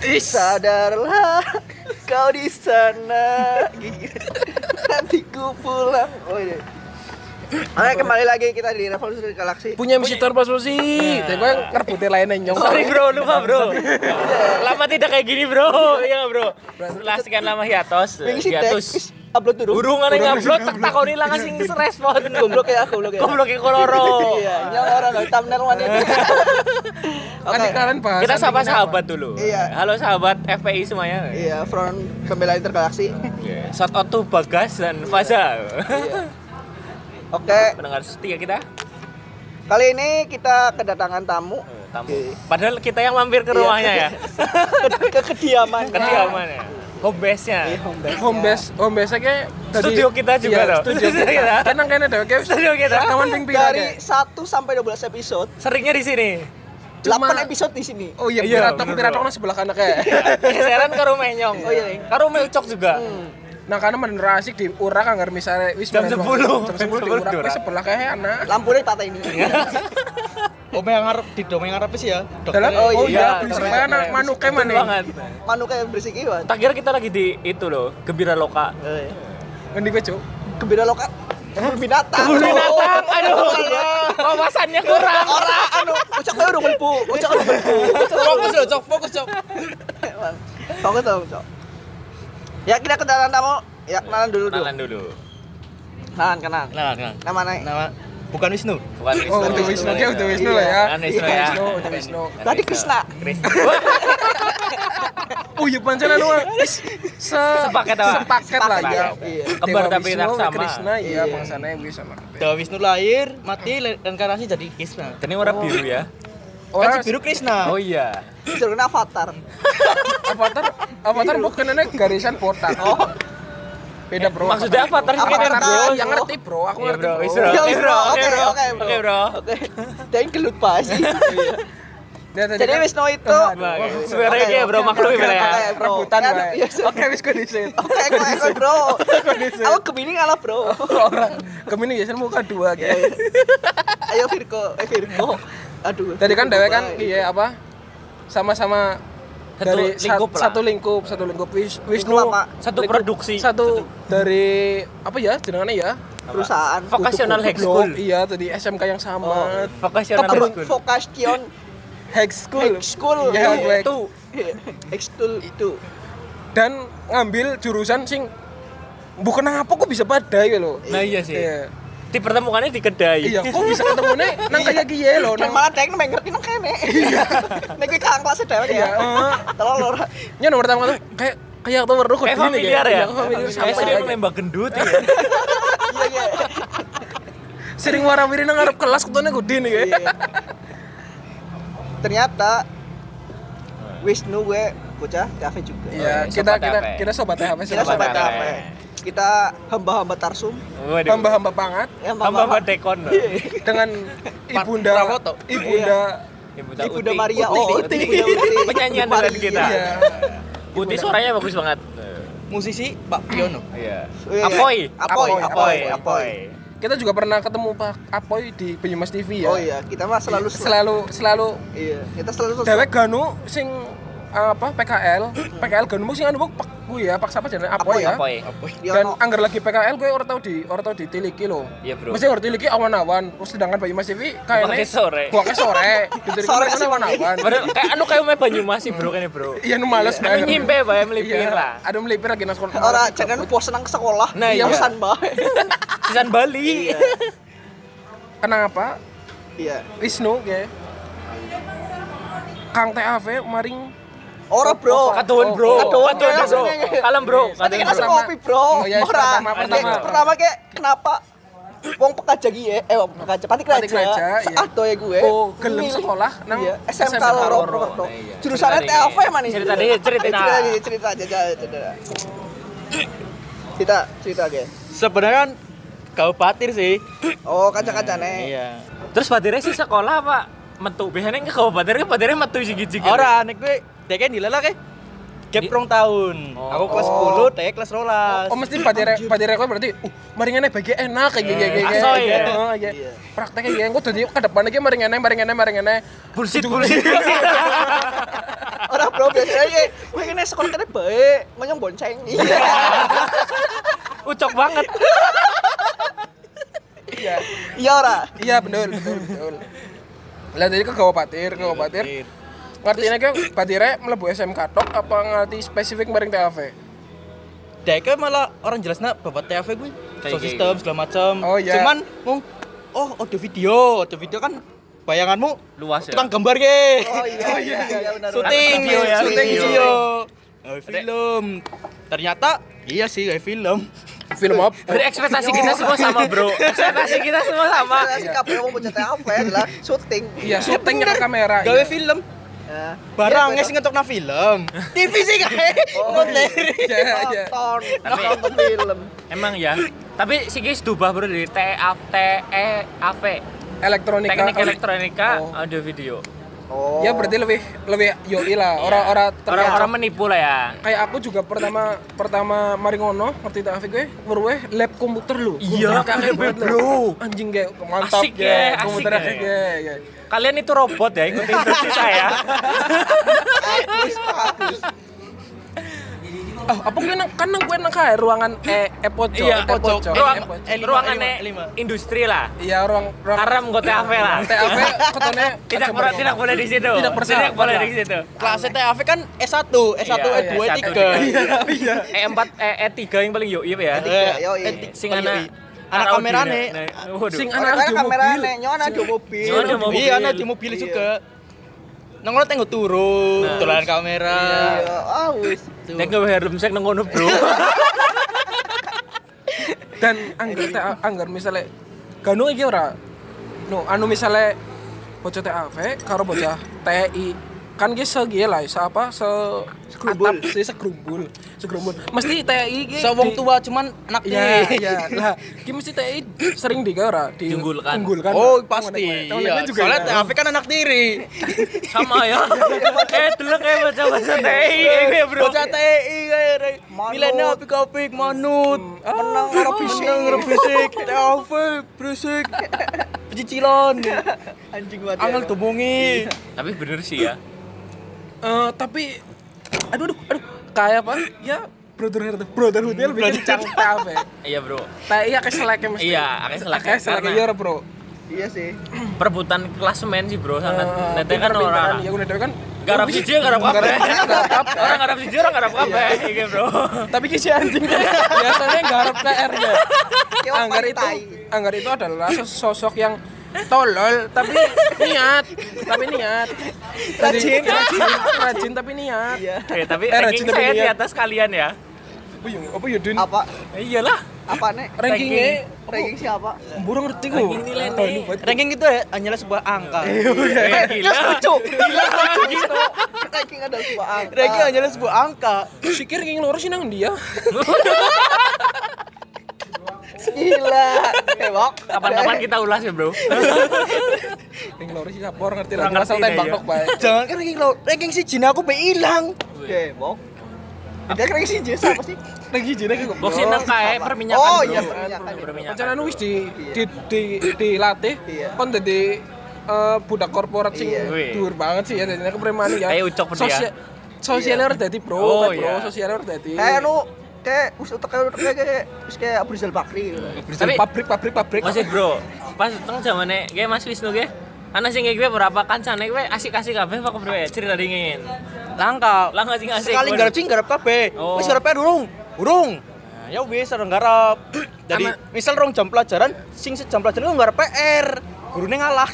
Sadarlah kau di sana. Nanti ku pulang. Oh iya. Oke, kembali lagi kita di Revolusi Galaksi. Punya misi transformasi. Tapi gue ngerebutin lainnya nyong. Sorry bro, lupa bro. Lama tidak kayak gini bro. Iya bro. Setelah sekian lama hiatus. Upload dulu. Burung ada yang upload, tak takoni lah ngasih respon. Goblok ya. Goblok ya koloro. Iya, nyong orang loh thumbnail mana. Oke, kalian bahas. Kita sapa sahabat dulu. Iya. Halo sahabat FPI semuanya. Iya, Front Pembela Intergalaksi. Shout out to Bagas dan Faza. Iya. Oke, Pendengar setia kita. kali ini kita kedatangan tamu. Padahal kita yang mampir ke rumahnya ya. Ke kediamannya. Kediamannya. Home base-nya. Home base kayak Studio kita juga iya, loh. Studio kita. Kenang kene deh, kayak Studio kita. Rekaman ping-ping Dari 1 sampai 12 episode. Seringnya di sini. 8 episode di sini. Oh iya, piratok nang sebelah kanan kayak. Geseran ke rumah Nyong. Oh iya. Ke rumah Ucok juga. Nah, karena bener asik di urak anggar misalnya wis Jam 10. Jam 10 di urak wis sebelah kayak anak. Lampunya patah ini. Om yang ngarep di dom yang ngarep sih ya. Dalam Oh iya, berisik kayak anak manuke Betul mana. banget. Manu kayak berisik iwan. Tak kira kita lagi di itu loh, Gembira Loka. Ngendi kowe, Cuk? Gembira loka. Binatang. Binatang, aduh. Wawasannya kurang. Ucap udah melbu. Fokus, Cok. Fokus dong, Cok. Ya, kita kedatangan tamu. Ya, kenalan dulu. Kenalan dulu. Kenalan. Kenalan. Nama Bukan Wisnu. Bukan Oh, udah Wisnu lah ya. Kan Wisnu ya. Udah Wisnu. Tadi Krisna. Oh iya pancen anu Sepaket apa? Sepaket lah ya. Iya. Kembar Dewa tapi Wisnu, tak sama. Krishna iya Iya. bangsane wis sama. Dewa Wisnu lahir, mati, reinkarnasi jadi Krishna. Ini warna biru ya. Kan si biru Krishna. Oh iya. Disuruh avatar. Avatar bukan ini garisan botak. Oh. Beda bro. Maksudnya avatar Avatar, kan bro. Yang ngerti bro, aku Iya, ngerti bro. bro. Wis, bro. Ya, Oke, bro. Oke, bro. Oke. Dan gelut pas. Jadi Wisnu itu Sebenarnya kayak bro maklum ya. Oke, bro. Rebutan Kan, wae. iya, Oke wis kondisi. Oke, bro. Aku Gemini ngalah, bro. Orang Gemini biasanya muka dua kayak. Ayo Virgo. Aduh. Tadi kan dewe kan iya apa? Sama-sama dari satu lingkup Wisnu apa? Satu produksi. satu dari apa ya jenengannya ya Perusahaan. Vocational High School. iya tadi SMK yang sama Vocational High School. Vocation High School Iya, ya itu. School itu. dan ngambil jurusan sing bukan apa kok bisa badai loh. Nah iya sih. Iya. Dipertemukannya di kedai. Iya, kok bisa ketemu nih nang kayak giye loh Dan nang. malah deng ngerti nang kene. Iya. Nek kowe kakak kelas dhewe ya. Tolong lho. Nya nomor pertama tuh kayak tuh baru Kayak familiar ya. Familiar Kayak sering nembak gendut ya. Iya. Sering warawiri nang ngarep kelas ketone gede nih kayak. Ternyata Wisnu gue bocah kafe juga. Iya, Sobat kita sobat THP Kita sobat kafe. Kita hamba-hamba Tarsum. Waduh. hamba-hamba pangat Hamba dekon. dengan ibunda Prawoto. Ibunda Maria Uti. Penyanyian dengan kita. Iya. Putih suaranya bagus banget. Musisi Pak Piono. Iya. Apoy. Apoy. Kita juga pernah ketemu Pak Apoy di Banyumas TV ya. Oh iya, kita mah selalu iya, kita selalu dewek ganu sing apa PKL ganu sing anu pak gue ya paksa apa jenenge Apoy ya. Apoy. Dan anggar lagi PKL gue ora tau ditiliki loh. Iya, bro. Mesti ora tiliki awan-awan. Terus sedangkan Banyumas TV kayaknya Buangke sore. Ditiliki Sore kan sih, awan-awan. Padahal kayak me Banyumas sih bro kene bro. Iya nu males Tapi nyimpe bae melipir lah. Ada melipir lagi nang sekolah. ora jangan pos senang ke sekolah. Nah, iya. Pesan bae. Sisan Bali. Iya. Kenapa? Iya. Wisnu kayak Kang TAV maring Ora, bro. Katuan bro. Katuan, Katuan, bro. Kalem bro. Tadi kita sekopi, bro. Oh, iya, Ora. pertama. Pertama kayak kenapa wong pekerja gie, wong pekerja Pati Kraja. Seado ya gue. Oh, gelem sekolah nang iya, SMK Loro Purwokerto. Jurusannya TAV mana nih? Cerita aja. Cerita aja. Sebenarnya kan kau patir sih. Oh, kaca-kacane. Iya. Terus batirnya sih sekolah pak metu biasanya ke batirnya metu sigit-sigit. Ora nek kowe dek nilai lah kayak gap rong tahun. Aku kelas 10, dek kelas 12. Oh mesti padire kowe berarti maringane bagi enak kayak gini. Asoy ya. Iya. Prakteknya ya engko dadi ke depan iki maringane. Bullshit. Ora, bro. bro biasanya gue kene sekolah kene baik ngonyong bonceng. Iya. Ucok banget. Iya. Iya ora? Iya betul. Lah tadi ke Patir. Ngerti nek Patire mlebu SMK tok apa ngerti spesifik bareng TAV? Dek malah orang jelasnya bapak TAV gue. Sound system segala macam. Oh, iya. Cuman audio video kan bayanganmu Luas ya. tukang gambar ge. Oh iya benar. Syuting Syuting video. Film. Ternyata iya sih kayak film. Film apa? Berarti ekspektasi kita semua sama, Bro. Ekspektasi kita semua sama. Si kabeh mau punya TAV adalah syuting. Iya, syuting nyetak kamera. Gawe film. Ya. Barang sing ngetokna film. TV sih kae. Iya. Nonton film. Emang ya. Tapi si guys dubah bro dari TEAV. Elektronika. Teknik elektronika Oh. audio video. Oh. Ya berarti lebih yoi lah. Orang menipu lah ya. Kayak aku juga pertama mari ngono ngerti TAV gue weruh lab komputer lu. Iya, kaget banget bro. Anjing kayak mantap Asik ya, komputer asik asik ya. ya. Kalian itu robot ya, ikutin instruksi saya. Bagus. Oh, apa gue nang kae ruangan pojok. Iya, pojok. Ruangan lima. industri lah. Iya, ruang Karena menggo TAV lah. TAV ketone Tidak boleh di situ. Tidak boleh di situ. Kelas TAV kan S1, S1, Iya, E2, iya, E3. Iya. E4, E3 yang paling yoi ya. Sing anak kamerane. Waduh. Sing Anak anak kamera mobil. nyon ada mobil. Nyon ada mobil. Iya, ana di mobil juga. Nang ngono tenggo turu, dolan kamera. Iya, wis. Nek gawe helm sek nang ngono, Bro. Dan anggar misalnya ganu iki ora. No, anu misalnya bocah TAV karo bocah TI kan ge segi lah segrumbul. Mesti TI ge Wong tua cuman anak Iya. Lah, ki mesti TI sering digawe ora Diunggulkan. Oh, Oh, pasti. Iya. juga. Soalnya TAV kan anak tiri. Sama ya. Delok kayak bocah-bocah TI ya, Bro. Bocah TI kayak milenial apik-apik manut. Menang karo bisik. Menang berisik. TAV berisik. Pecicilan. Anjing banget. Angel domongi. Tapi bener sih ya. tapi aduh kayak apa? Ya brotherhoodnya lebih kencang TAV. Iya, Bro. TI akeh seleke mesti. Iya, akeh seleke. Iya ora, Bro. Iya sih. Perebutan klasemen sih, Bro, sangat. Nanti kan Pinter-pinteran. orang Ya udah kan garap siji garap kabeh. Orang garap siji orang garap kabeh iki, Bro. tapi ki si anjing biasanya garap PR-nya. Anggar itu adalah sosok yang tolol tapi niat. Rajin tapi niat. Iya. Oke, tapi rajin ranking tapi saya di niat. atas kalian ya. Apa ya Din? Apa? Iyalah. Apa nek? Rankingnya Ranking siapa? burung ngerti kok. Ranking nilai nih. Ranking itu hanyalah sebuah angka. Gila. Ranking ada sebuah angka. Ranking hanyalah sebuah angka. Sikir ranking loro sih nang dia. Gila. Hewok. Kapan-kapan kita ulas ya, Bro. Ranking loro sih sapor ngerti lah. Asal tembak tok bae. Jangan kan ranking si Jin aku be ilang. Hewok. Ada ranking sih siapa sih? Ranking jene kok. Boxing nang kae perminyakan. Oh, Bro. iya, perminyakan. Perminyakan. Rencana wis dilatih Iya. kon dadi budak korporat sing Iya. dhuwur banget sih ya dadi kepremani ya. Kayak ucok bener ya. Sosialnya harus dadi bro, Oh, bro. iya. Sosialnya harus dadi. Kayak wis utek kayak wis kayak Abu Rizal Bakri gitu. Tapi- pabrik. Masih, Bro. Pas teng zamane ge Mas Wisnu ge. Ana sing gue berapa kancane gue asik-asik kabeh apa bro ya cerita dingin. Langka. Langka sing asik. Sekali garap kabeh. Oh. Wis garapnya urung. Nah, ya wis orang garap. Jadi misal rong jam pelajaran, sing sejam pelajaran ku garap PR. Gurune ngalah.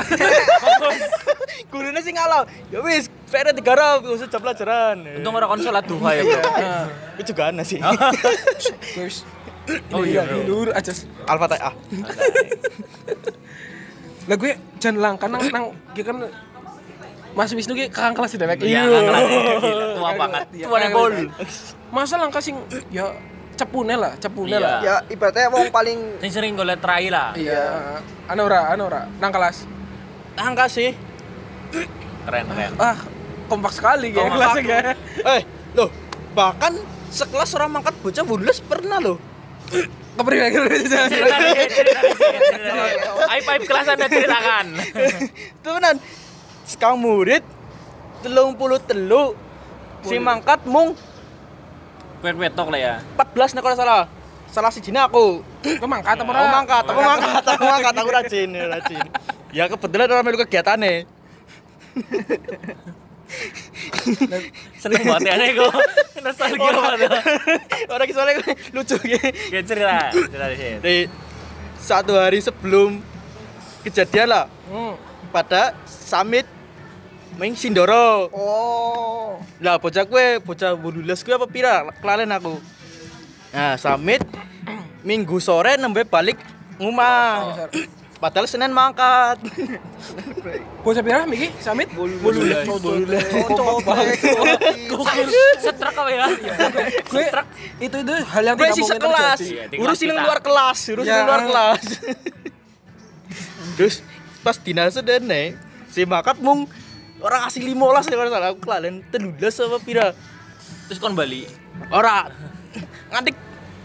Gurune sing ngalah. Ya wis, PR digarap sejam pelajaran. Untung ora kon salat duha ya, Bro. Itu juga ana sih. Guys. Oh iya, bro. Lur aja. Al-Fatihah. Lah gue jan langka nang ya kan Mas Wisnu ki kakang kelas dewek. Iya, kakang kelas. Gila, tua banget. Tua bol. Masa langka sing ya cepune lah. Iya. Ya ibaratnya wong paling Sing sering golek trai lah. Iya. Anu ora nang kelas. Langka sih. Keren. Ah, kompak sekali ya Kompak. kelasnya. Loh, bahkan sekelas orang mangkat bocah bules pernah loh. Kepriwe Cerita. Aib kelas Anda ceritakan. Temenan. Sekang murid 33 Sing mangkat mung Wet-wetok lah ya. 14 nek ora salah. Salah sijine aku. Kok mangkat apa Aku mangkat, aku rajin. Ya kebetulan ora melu kegiatane. Seneng banget ya nek kok. Nostalgia banget. Ora ki soalnya lucu ki. Ya cerita di sini. Di satu hari sebelum kejadian lah pada summit Ming Sindoro. Oh. Lah bocah 18 gue apa pira kelalen aku. Nah, summit Minggu sore nembe balik ngumah. Padahal Senin mangkat. Bocah pira miki samit? Bolulas. Setrek apa ya? Gue itu hal yang Gue tidak sih mungkin sekelas. terjadi. Iya, di Urusin kelas yang kita. luar kelas, Terus pas dinase dene si makat mung orang asli 15 ya kalau salah aku kelalen 13 apa pira. Terus kon bali. Ora. Nganti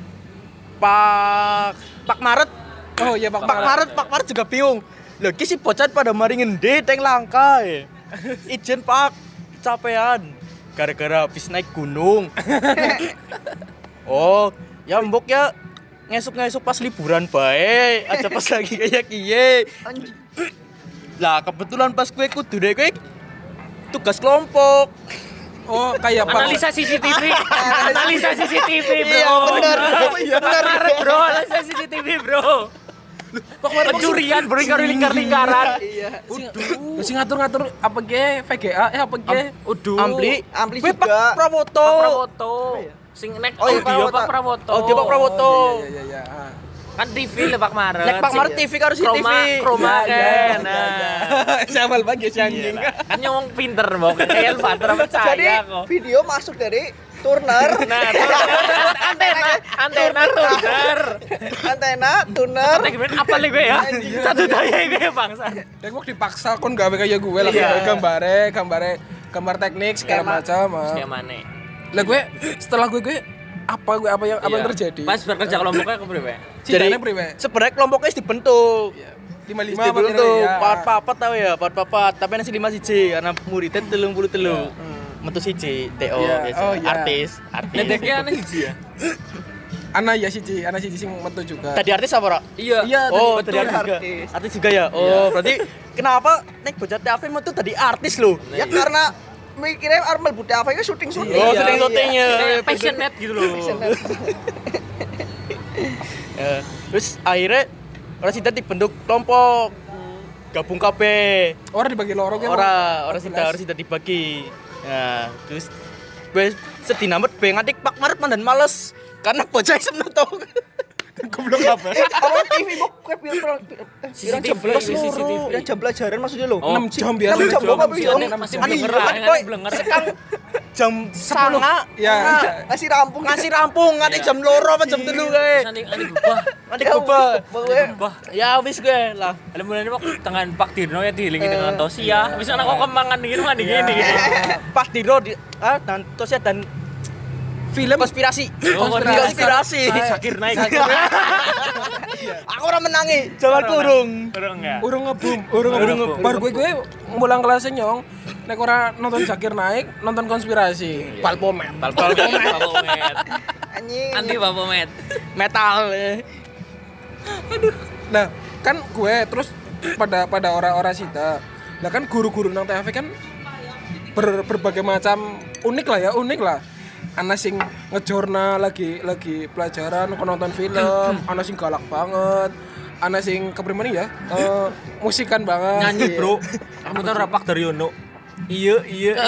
Pak Maret. Oh iya Pak Pak Maret juga bingung. Lho ki si bocah pada mari ngendi teng langka ya. Ijen Pak, capean gara-gara habis naik gunung. Oh, ya mbok ya ngesuk-ngesuk pas liburan bae, aja pas lagi kayak kiye. Lah kebetulan pas gue kudu deh gue tugas kelompok. Oh kayak Pak. Analisa CCTV. Analisa CCTV, bro. Iya, bener. Bener, bro. Analisa CCTV, bro. Pencurian, bro, lingkar-lingkaran. Iya. Sing ngatur-ngatur apa ge VGA apa ge? Uduh. Ampli Gue juga. Pak Prawoto. Pak Prawoto. Sing nek Oh, iya, audio Prawoto. Pak Prawoto. Oh, dia Pak Prawoto. Iya. Kan TV le Pak Maret. Nek Pak Maret TV karo si TV. Kroma kan. Siapa lagi si anjing? Kan nyong pinter, Bok. Kayak Alfatra Jadi percaya kok. video masuk dari Turner. Nah, antena tuner. Antena, tuner. Nek gimana apa gue ya? Satu daya gue ya bangsa. Ya gue dipaksa kon gawe kayak gue lah gambar teknik segala macam. Kayak mana? Lah gue setelah gue apa yang terjadi? Pas bekerja kelompoknya ke berapa? Jadi Cintanya priwe? sebenarnya kelompoknya dibentuk. 55 Apa apa tuh? ya? Papat tahu ya, papat. Tapi nasi 5 siji karena muridnya 33. Metu siji, TO Iya. biasa. Oh, iya. Artis. Nedeknya aneh sih ya. Anak siji sing metu juga. Tadi artis apa, Rok? Iya. Oh, betul, tadi artis juga. artis. Artis juga ya? Oh, berarti kenapa nek bocah TAV metu tadi artis loh? Ya karena mikirnya Armel Budi apa itu syuting. Oh, Iya, syuting-syutingnya. Passionate gitu loh. Ya, terus akhirnya orang sida dibentuk kelompok. Gabung kabeh. Orang dibagi loro kan? Orang sida dibagi. Nah, terus gue sedih namet be nganti Pak Maret mandan males karena bocah isem tau. Goblok apa? Apa TV bok kue pirang CCTV, jam 11 CCTV. loro. Yang jam pelajaran maksudnya lo. Oh. 6 jam biasa. 6 jam kok apa yo? Masih Ani, blenger, kan, kan boy. blenger. Sekang jam 10. Ya. Ngasih rampung. Ngasih rampung nganti jam loro apa jam 3 kae. Ani bubah. Nanti bubah. Bubah. Ya wis gue lah. Ada mulanya Pak tangan Pak Dirno ya diilingi dengan Tosia. Bisa anak kok kemangan gini mandi gini. Pak Diro dan Tosia dan Film konspirasi. Oh, Konspirasi. Sakir naik. Aku ora menangi, jalan kurung. Kurang ya. urung ngebum. Baru gue mulang kelasnya nyong. Nek ora nonton Zakir naik, nonton konspirasi. Palpomet. Papomet. Anjing. Anti Papomet. Metal. Nah, kan gue terus pada orang-orang sita. Lah kan guru-guru nang THV kan berbagai macam unik lah. Ana sing ngejorna lagi pelajaran nonton film, ana sing galak banget. Ana sing keprimen ya? Musikan banget. Nyanyi, Bro. Kamu tahu rapak dari Yono. Iya.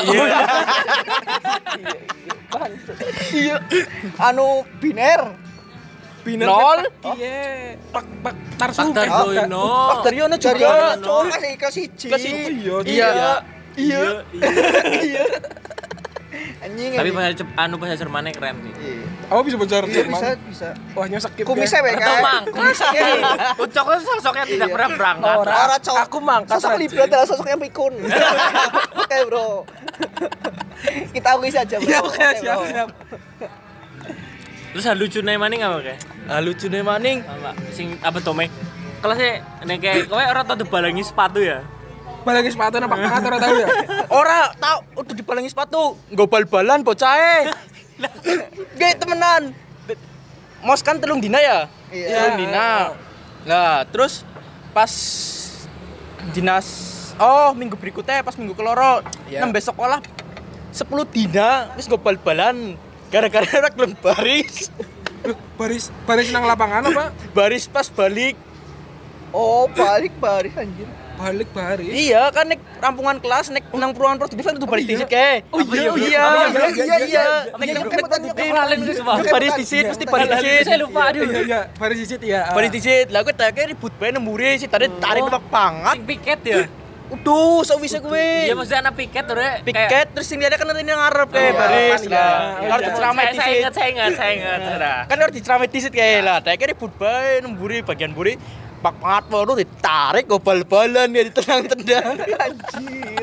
Iya. Anu biner. Nol. Iya. Pak Tarsu. Pak Daryono. Pak Daryono Dari juga. cowok kasih ke siji. Iya. Iya. Anjing. Tapi bahasa Jermannya keren sih. Iya. Apa bisa belajar Jerman? Bisa. Wah, nyosek Kumisnya wae Atau kan. mang, Ucoknya sosoknya tidak pernah berangkat. Ora cowok. Aku mangkat. Sosok Libra adalah sosok yang pikun. Oke, Bro. Kita akui saja, Bro. Ya, oke, siap. Terus hal lucu nih maning apa kayak? Lucu nih maning. Apa? Sing apa Tome? Kelasnya nek kayak kowe ora tau dibalangi sepatu ya. Balangi sepatu nang Pak Mat ora tahu ya? Ora tahu udah dipalangi sepatu, nggo bal-balan bocahe. Ge temenan. Mos kan 3 dina ya? Iya. 3 dina. Lah, terus pas dinas minggu berikutnya pas minggu keloro nembe sekolah 10 dina wis nggo bal-balan gara-gara ora gelem baris. Baris nang lapangan apa? Baris pas balik. Oh, balik baris anjir. Balik baris. Iya, kan nek rampungan kelas nek nang perumahan produktif kan kudu baris disit kae. Oh iya, iya. Nek Ralen itu semua. baris disit mesti baris disit. Saya lupa aduh. Iya, baris disit ya. Baris disit. Lah kowe tak ribut bae nemburi sih tarik banget. Sing piket ya. Uduh, sok bisa kowe. Iya maksudnya anak piket tuh rek. Piket terus sing lihat kan ini ngarep kayak baris lah. Harus diceramai disit. Saya ingat. Kan harus diceramai disit kayak lah. Tak ribut bae nemburi bagian buri. Pak banget baru ditarik go bal-balan ya ditendang-tendang. Anjir.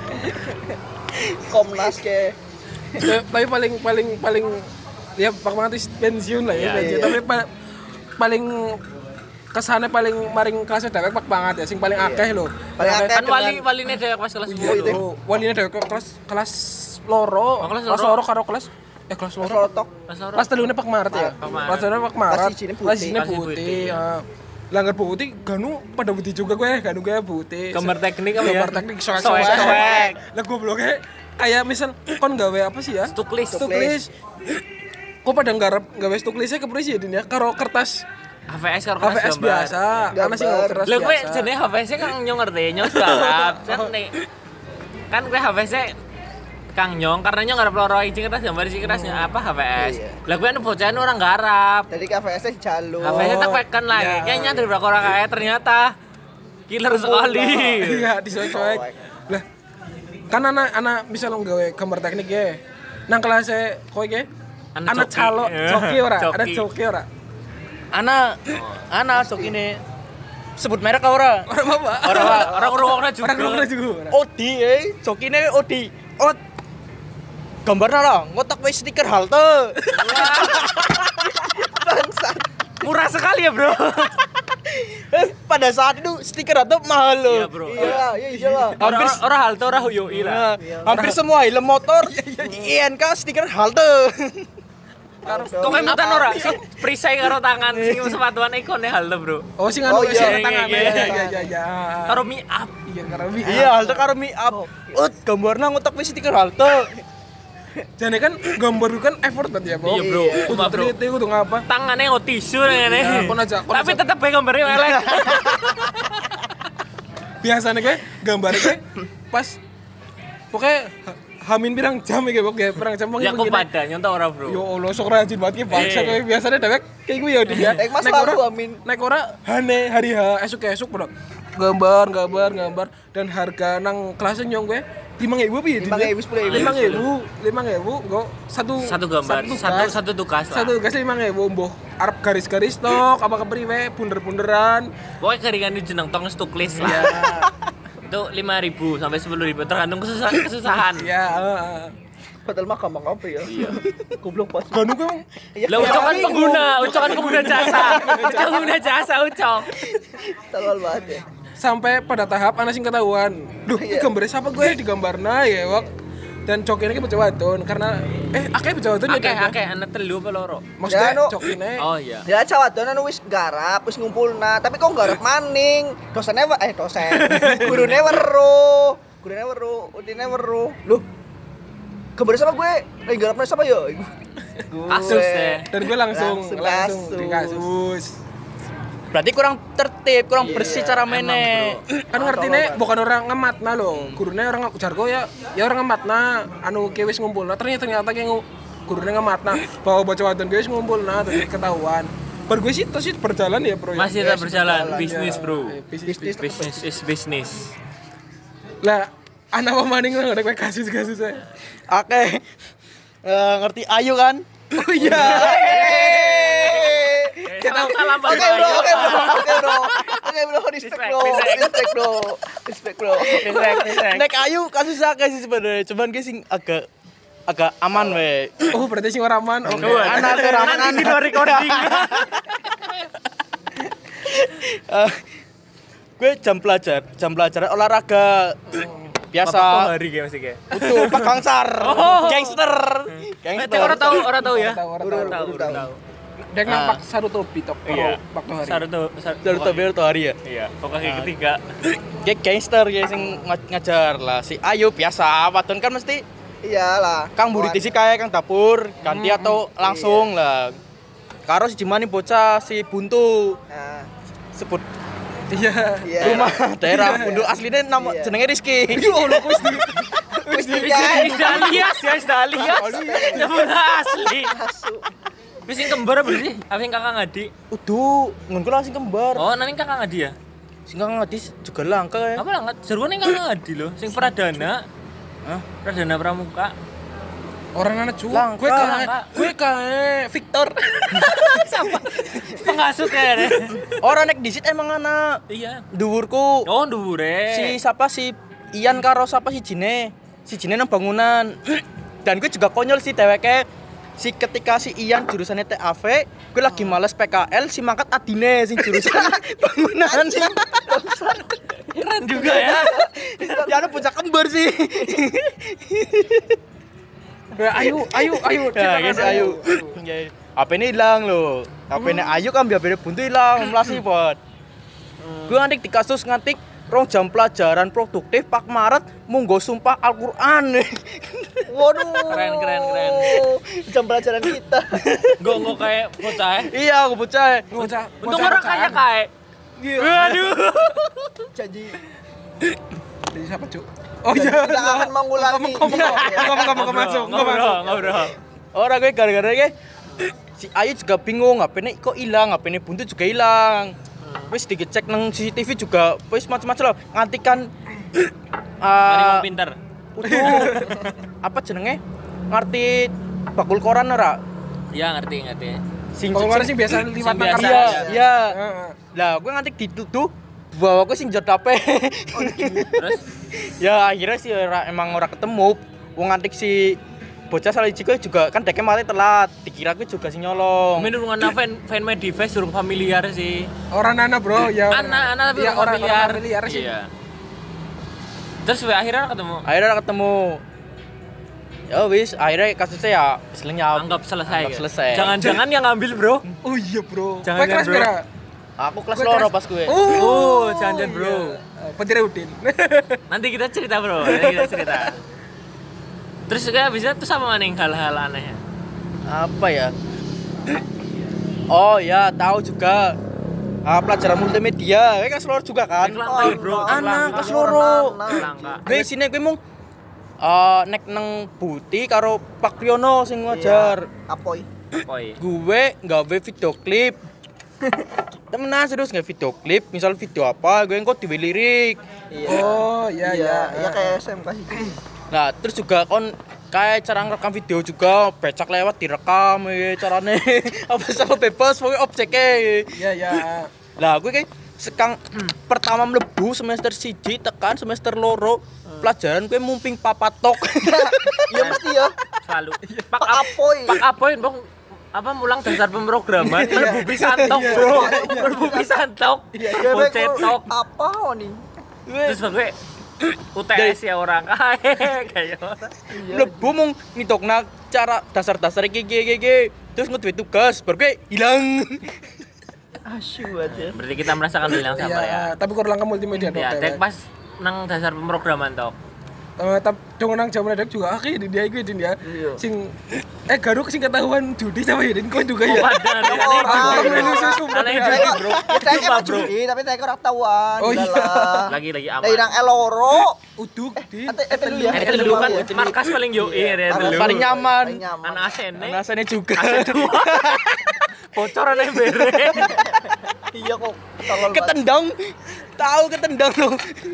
Komnas ke. Tapi paling ya Pak Mantis pensiun lah ya. Iya. Tapi paling kesannya paling maring kelasnya dewek Pak banget ya sing paling akeh lho. Paling akeh. Kan waline dewek pas kelas 10. Oh, waline dewek kelas loro. Oh, kelas Kelas loro. loro karo kelas kelas loro. Solotok. Kelas 3 Pak Maret ya. Pak Maret. Kelas 3 Pak Maret. Kelas sijine putih. Kelas sijine Kelas putih. putih. Langgar putih ganu pada putih juga gue, ganu gue putih. Gambar teknik apa ya? Gambar teknik soek. Soek. Lah gobloknya kayak misal kon gawe apa sih ya? Stuklis. Kok pada nggarep gawe stuklisnya ke presiden ya karo kertas HVS karo kelas HVS gambar. biasa. Ana sing Gambar. kertas Lha kowe biasa. jenenge HVS kang nyong ngerti, nyong garap. Kan kowe HVS Kang Nyong karena nyong garap loro izin kertas gambar izin kertasnya apa HVS. Iya. Lah kowe anu bocah orang garap. Jadi KVS-nya jalur. HVS tak pekan lah. ya. Kayaknya dari berapa orang kayak ternyata killer sekali. Iya, disoek-soek. Lah kan anak misal gawe gambar teknik ya. Nang kelas kowe ge anak Coki. calo coki ora? Coki. Ada coki ora? Ana sok ini sebut merek ora? Ora apa? Orang ngrungokna juga. Orang ngomong juga. Odi jokine Odi. Gambarnya lah, ngotak wis stiker halte. Bangsat. Murah sekali ya, Bro. Pada saat itu stiker halte mahal loh. Iya, Bro. Iya lah. Orang halte orang huyoi lah. Hampir semua helm motor INK stiker halte. Kok kemutan ora? Sing perisai karo tangan sing sepatuan ikone halte, Bro. Oh sing anu Oh, iya. sing tangan. Iya. Iya. Karo mi up. Iya karo mi. Iya, halte karo mi up. Gambarnya ngotak wis stiker halte. Jadi kan gambar itu kan effort banget ya, Bro. Iya, Bro. Kudu Cuma, Bro. teliti, kudu ngapa. Tangannya nggak tisu ngene. Ya, kon aja. Tapi tetep bae gambarnya elek. Biasanya kayak gambarnya kayak pas pokoknya hamin pirang jam ya pokoknya pirang jam Ya kok pada nyontok ora, Bro. Yo Allah sok rajin banget ki bangsa kayak biasanya dewek kayak gue ya dia. Nek Mas lalu amin. Naik ora hane hari esuk Bro. Gambar dan harga nang kelasnya nyong gue 5.000 piye? 5.000, 10.000. 5.000 kok Satu gambar, satu tugas lah. Satu tugas 5.000 mbuh arep garis-garis tok apa kepriwe bunder-bunderan. Pokoknya keringan itu jeneng tong stuklis lah. Ya. Itu 5.000 sampai 10.000 tergantung kesusahan. Ya, Padahal mah gampang apa ya? Iya. Goblok pas. Ganu kan Lah ucokan pengguna jasa. Pengguna jasa ucok. Tolol banget ya. sampai pada tahap anak sing ketahuan. Duh, ini gambarnya siapa gue digambarna ya, Wak. Dan cokine ki bocah wadon karena akeh bocah wadon ya. Akeh anak telu apa loro? Maksudnya Ya, no. cokine. Oh iya. Ya cawadon anu wis garap, wis ngumpulna, tapi kok garap maning. Dosen. Gurune weruh. Udine weruh. Loh. Gambar sama gue? Lagi garapnya sama ya? Kasus deh. Dan gue langsung Langsung di kasus. Berarti kurang tertib, kurang bersih cara mainnya. Kan ngertine bukan orang ngematna loh. Gurune orang ujargo ya orang ngematna anu ki wis ngumpulna. Ternyata ki gurune ngematna bahwa bocah wadon ki wis ngumpulna terus ketahuan. Bar gue sih terus berjalan ya, Bro. Masih tetap berjalan bisnis, Bro. Bisnis. Bisnis is business. Lah, anak pemaning nggak ada kasus-kasus saya. Oke. Ngerti Ayu kan? Oh iya. Salam salam Oke bro, respect bro. Nek Ayu kasus akeh sih sebenarnya. Cuman guys sing agak aman we. Oh, berarti sing ora aman. Oke. Anak serangan di luar recording. Gue jam pelajaran olahraga biasa. Bapak hari kayak masih kayak. Utuh Pak Gangsar. Oh. Gangster. Cek orang tahu ya. Orang tahu. Tahu. Dek nampak Saruto Pitok. Iya. Waktu hari. Saruto Berto hari ya. Iya, pokoknya ketiga. Kayak gangster ya sing ngajar lah. Si Ayu biasa, wadon kan mesti Iyalah. Kang Buriti sih kayak Kang dapur, ganti atau langsung lah. Karo si Jimani bocah si Buntu. Nah, Sebut Iya. iya. rumah daerah Buntu aslinya nama Iya. jenenge Rizky. Wis dikai. Alias ya, alias. Nyebut asli. Asu. Wis sing kembar apa sih? Apa sing kakak ngadi? Uduh, ngon kula sing kembar. Oh, nang kakak ngadi ya? Sing Kang Adis juga langka ya. Apa lah? Jaruan yang kakak ngadi loh, sing pradana. Hah? Pradana pramuka. Orang anak cu. Langka. Gue kayak Victor. Pengasut ya deh. Orang nek disit emang anak Iya. dhuwurku. Oh, dhuwure. Si siapa si Ian karo siapa si Jine nang bangunan. Dan gue juga konyol sih dheweke. Si ketika si Ian jurusannya TAV, gue lagi males PKL, si mangkat adine sing jurusan bangunan. keren juga ya. Ya ada bocah kembar sih. Ayo. Ya guys, ayo. HP ini hilang loh. HP ini Ayu kan biar Buntu hilang, melasi buat. Gue ngantik di kasus ngantik 2 jam pelajaran produktif Pak Maret munggo sumpah Al-Qur'an. Waduh. Keren. Jam pelajaran kita. Gongo kayak bocah ya. Iya, aku bocah. Untung orang kaya kayak. Waduh. Jadi Jadi siapa, Cuk? Oh iya. tidak akan mengulangi. Ngomong masuk. Ngobrol. Orang gue gara-gara gue si Ayu juga bingung, HP-nya kok hilang, HP-nya Buntu juga hilang. Wis dicek nang CCTV juga wis macam-macam lah. Nganti kan Mari wong pinter. utuh apa jenenge? Ngerti bakul koran ora? Iya, ngerti. Kalau sih biasa liwat nang biasa. kertas. Iya. Heeh. Lah, gue nganti dituduh bahwa gue sing jod HP. Terus Ya akhirnya sih emang ora ketemu. Wong ngantik si bocah salah gue juga kan deknya mati telat. Dikira gue juga sing nyolong. menurungan fan Mediface durung familiar sih. Orang anak, Bro. Ya. Anak tapi Iya, orang familiar. familiar sih. Iya. Terus akhirnya ketemu. Akhirnya ketemu. Ya wis, akhirnya kasusnya ya lenyap. Anggap selesai. Anggap ya? selesai. Jangan-jangan yang ngambil, Bro. Oh iya, Bro. Jangan, Kowe kelas bro. pira? Aku kelas Gue loro kelas- pas gue. Oh, jangan, Bro. Petir Udin. Nanti kita cerita, Bro. Terus juga bisa tuh sama maning hal-hal aneh. Apa ya? Oh ya, tahu juga. Pelajaran multimedia, kelas loro juga kan? Langka, Bro. Anak kelas loro. Langka. Gue sini gue mung nek nang Buti karo Pak Priyono sing ngajar. Apoi. Koi. Gue nggawe video klip. Temenan serius nggak video klip, misal video apa, gue kok diwe lirik. Oh, iya. Iya kayak SMK sih. Nah, terus juga kon kayak cara ngerekam video juga, becak lewat direkam carane. Apa sama bebas pokoknya objeknya. Iya. Lah, gue kayak sekang pertama mlebu semester 1 tekan semester loro pelajaran gue mumping papatok. Iya mesti ya. Selalu. Pak Apoy. Pak Apoy, Bang. Apa mulang dasar pemrograman? Mlebu pisantok, Bro. Mlebu pisantok. Boncetok. Apa nih? Terus gue UTS ya orang kayak orang. Mlebu mung nitokna cara dasar-dasar iki terus ngeduwe tugas baru gue hilang. Asyik aja. Berarti kita merasakan hal yang sama ya. Iya, tapi kurang ke multimedia dong. Ya, dek pas nang dasar pemrograman tok. Tapi dong nang jaman dek juga akhirnya dia iku din ya. Iya. Sing garuk sing ketahuan judi sama ya din kau juga ya. Aneh judi, Bro. Kita Sumpah, kan judi tapi saya ora tahuan. Oh, iya. Lagi aman. Dari nang Eloro. Uduk din. Telu ya. Itu dulu kan markas paling yo ya dulu. Paling nyaman. Anak asene. Rasanya juga. Bocoran yang bere. Iya kok. Tolol banget. Ketendang. Tahu ketendang lo.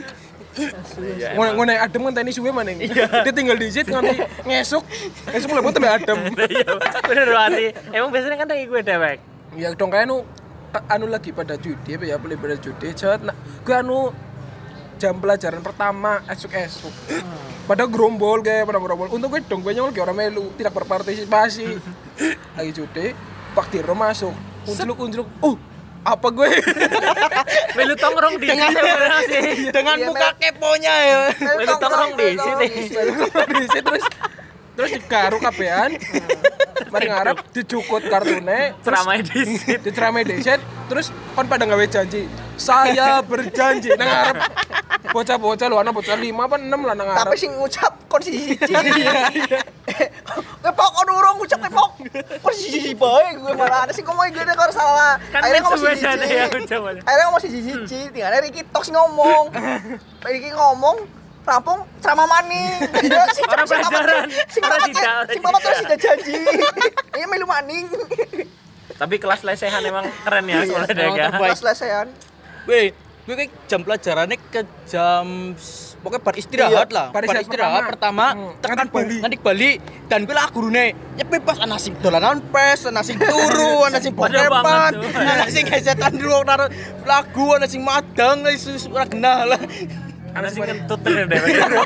Ngono adem kan tani suwe maning. Dia tinggal di sit nganti ngesuk mlebu tembe adem. Iya, bener banget. Emang biasanya kan kayak gue dewek. Ya dong kayak anu lagi pada judi apa ya boleh pada judi. Jawab nah, gue anu jam pelajaran pertama esuk-esuk. Pada gerombol kayak pada gerombol. Untuk gue dong gue nyolong kayak orang melu tidak berpartisipasi. Lagi judi, Pak Tiro masuk. Unjuk. Apa gue? Melu tongkrong di sini sih. Dengan Iya, muka keponya ya. Melu tongkrong di sini. Terus digaru kabehan. Mari ngarep dicukut kartune, Ceramah di sini. diceramai deset, terus kon pada gawe janji. Saya berjanji nang ngarep bocah-bocah lho, ana bocah 5 apa 6 lah nang Tapi ngarep. sing ngucap kon siji. Kepok kon urung ngucap kepok. Kon siji bae gue malah ada sing ngomong gede karo salah. Kan Akhirnya ngomong suwe siji. jane ya ucapan. Akhirnya ngomong siji. Tinggal Ricky tok sing ngomong. Ricky ngomong rampung sama maning. Orang pelajaran. Orang tidak. Sing bapak terus tidak janji. Iya melu maning. Tapi kelas lesehan emang keren ya sekolah emang daga. terbaik. Pas lesehan. Weh, gue kayak jam pelajarannya ke jam pokoknya bar istirahat Iya, lah. bar Bar istirahat istirahat pertama tekan ngantik Bali dan gue lah gurune nyepi pas ana sing dolanan pes, ana sing turu, ana sing Padahal bokepan, banget tuh. ana sing gesetan dulu naro lagu, ana sing madang wis ora genah lah. Ana sing kentut terus deh.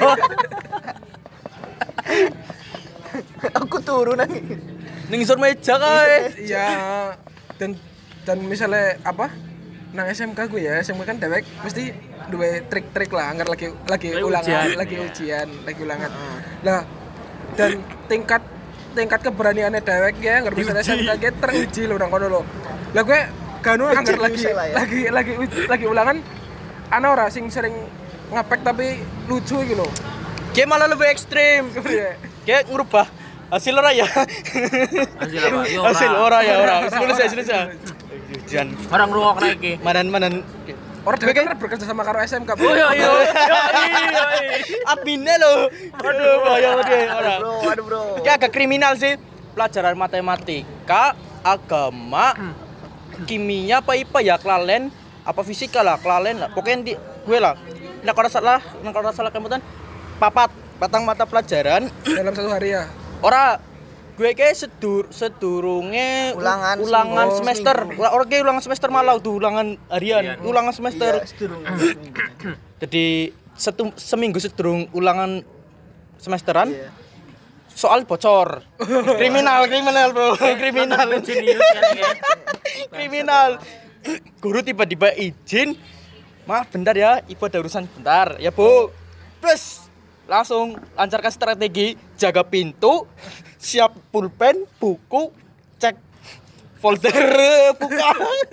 Aku turun nang. Ning isor meja kae. Iya. Dan misalnya apa? Nang SMK gue ya, SMK kan dewek mesti duwe trik-trik lah, anggar lagi Lagi ulangan, ujian. lagi ujian, lagi ulangan. Lah, dan tingkat keberaniannya dewek ya, anggar misalnya SMK gue teruji lho nang kono lho. Lah gue kanu anggar Uji lah ya. lagi ulangan ana ora sing sering ngapek tapi lucu iki lho. Kayak malah lebih ekstrim. Kayak ngerubah hasil ora ya. Hasil apa? Yo, ora. Hasil ora ya ora. Lulus ya. Ujian. Orang ngrungokna iki. Manan. Orang dewek kan bekerja sama karo SMK. Oh iya iya. Adminnya loh. Aduh, bahaya dia orang. Aduh bro. Kayak agak kriminal sih. Pelajaran matematika, agama, kimia apa IPA ya kelalen, apa fisika lah, kelalen lah. Pokoknya di gue lah. Nek ora salah kemudian patang mata pelajaran Dalam satu hari ya. ora gue kayak sedurunge Ulangan semester. seminggu. Ora kayak ulangan semester malah tuh ulangan harian, ulangan semester. Iya, sedurung. Jadi seminggu sedurung ulangan semesteran Iya. soal bocor. kriminal bro, kriminal. Jenius kan ya. Kriminal. Guru tiba-tiba izin, maaf bentar ya, ibu ada urusan bentar ya bu. Terus langsung lancarkan strategi, jaga pintu, siap pulpen, buku, cek folder, buka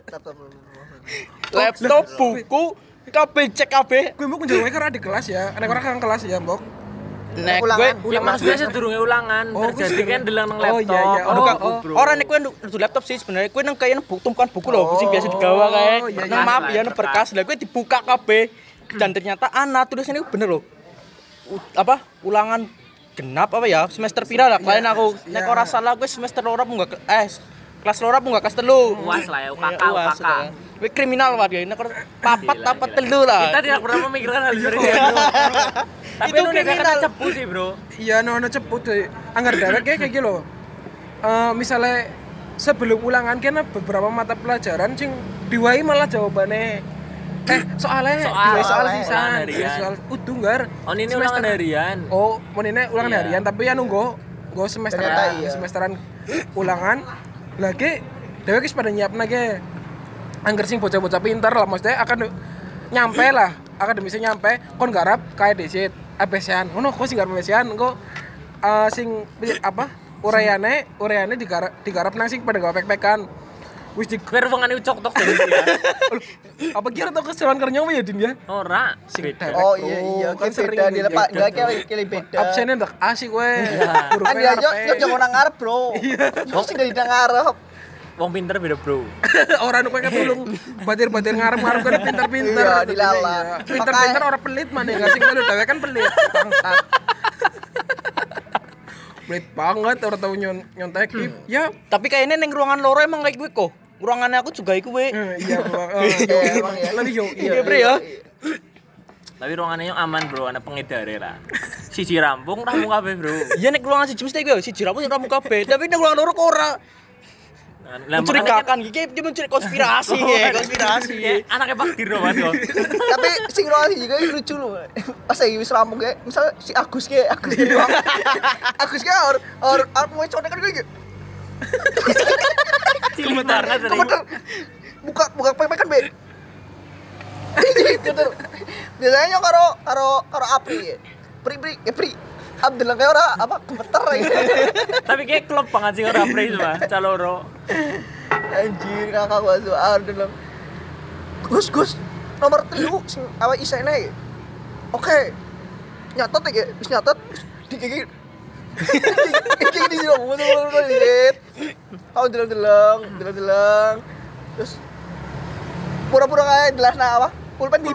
laptop, buku, KB cek KB. Gue mau kunjungi karena di kelas ya. Ada orang kan kelas ya, Mbok. Nek Ulangan. gue Ya maksudnya sedurunge ulangan. Oh, Terjadi kan delang nang oh, laptop. iya, iya. orang nek kowe ndu laptop sih sebenarnya kowe nang kaya tumpukan buku lho sing biasa digawa kae. Oh, iya, Nang iya. map ya nang berkas lah kowe dibuka kabeh dan ternyata ana tulisannya bener lho. Ulangan genap apa ya semester pira lah kalian aku nek ora salah kowe semester loro apa enggak kelas loro apa enggak kelas 3. UAS lah ya, UKK. Kowe kriminal wae nek papat apa telu lah. Kita tidak pernah memikirkan hal seperti itu. Tapi Itu itu kriminal. karena cepu sih, Bro. Iya, no cepet deh. Anggar dewek kayak gitu loh. Misalnya sebelum ulangan kena beberapa mata pelajaran sing diwai malah jawabannya soalnya diwai soal ulangan sisan, harian. soal udah nggar. Oh, ini ulangan harian. Oh, mau ini ulangan Iya. harian tapi ya nunggu semesteran, Ternyata iya. semesteran ulangan lagi dewek wis pada nyiapna ge. Angger sing bocah-bocah pinter lah maksudnya akan nyampe lah, akademisnya nyampe kon garap kayak desit ABCan. Ngono kok sing garap ABCan engko sing apa? Urayane digarap nang sing pada gawe pek-pekan. Wis di Biar wongane ucok tok jadi ya. apa kira tau keseruan kerja ya Din ya? Ora. Sing Beda. dewek, Oh bro. iya, Kan kan sering beda gitu. dilepas, enggak kayak beda. Absennya ndak asik we. Guru Kan dia yo jangan orang ngarep, Bro. Wong sing dari ngarep. Wong pinter beda, Bro. Orang kowe ketulung batir-batir ngarep-ngarep kan pinter-pinter. Iya, dilala. Iya. Pinter-pinter orang pelit mana enggak sing melu dhewe kan pelit. Bangsat. Pelit banget orang tahu nyontek. Ya, Tapi kayaknya neng ruangan loro emang kayak gue kok. Ruangannya aku juga iku we. iya bro. Iya, emang ya. Lebih yo. Iya, Bre ya. Tapi ruangannya yang aman, Bro. Ana pengedare lah. Siji rampung rampung kabeh, Bro. Iya nek ruangan siji mesti gue siji ramu ramu kabeh. Tapi nek ruangan loro kok ora. Lah Mencurigakan iki dia mencuri konspirasi ya, konspirasi. Anaknya Pak Dirno Mas. Tapi sing roh juga lucu loh. Pas lagi wis rampung kayak misal si Agus doang. Agus kayak or mau contekan gue gitu. Cilik banget tadi. Kemudian buka pepek kan be. Gitu. Biasanya karo Apri. Pri. Abdullah kayak ora apa gemeter ya. Tapi kayak klub banget sih orang Apri mah, caloro. Anjir kakak gua soal dalam. Gus nomor 3 sing awak isene. Oke. Nyatet ya, wis nyatet dikiki. Iki di sini ngomong lihat. Kau deleng. Terus pura-pura kayak jelasna apa? Pulpen di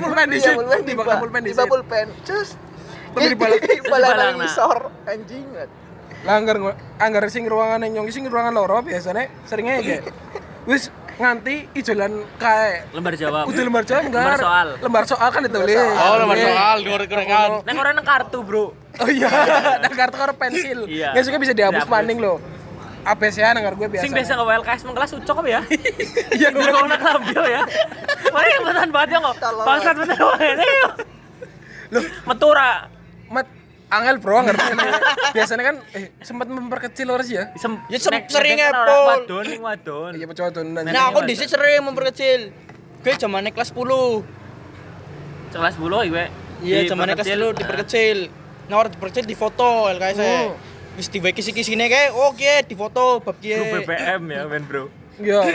pulpen. Terus balang isor anjing. Lah anggar sing ruangan nyong sing ruangan loro biasane seringnya kayak wis nganti ijolan kae Lembar jawab. udah lembar jawab enggak lembar soal kan ditulis lembar soal goreng-gorengan Neng orang kartu, Bro. oh iya ada kartu karo pensil Iya. nggak suka bisa dihapus maning loh APC-an ngar gue biasa Sing biasa nge WLKS mengkelas ucok apa ya? iya Gue kok nak lambil ya. Mana yang betan banget ya kok. Bangsat bener wae. loh Metura. angel bro ngerti biasanya kan sempat memperkecil harus ya Ya, sering Apple. Wadon. iya coba tuh Nah, aku dhisik sering memperkecil. Gue zamane kelas 10. Kelas 10 iku. Iya, zamane kelas 10 diperkecil. Nah, orang diperkecil di foto LKS. Wis diwe kisi-kisine kae, oke, di foto bab kiye. Grup BBM ya, men, Bro. iya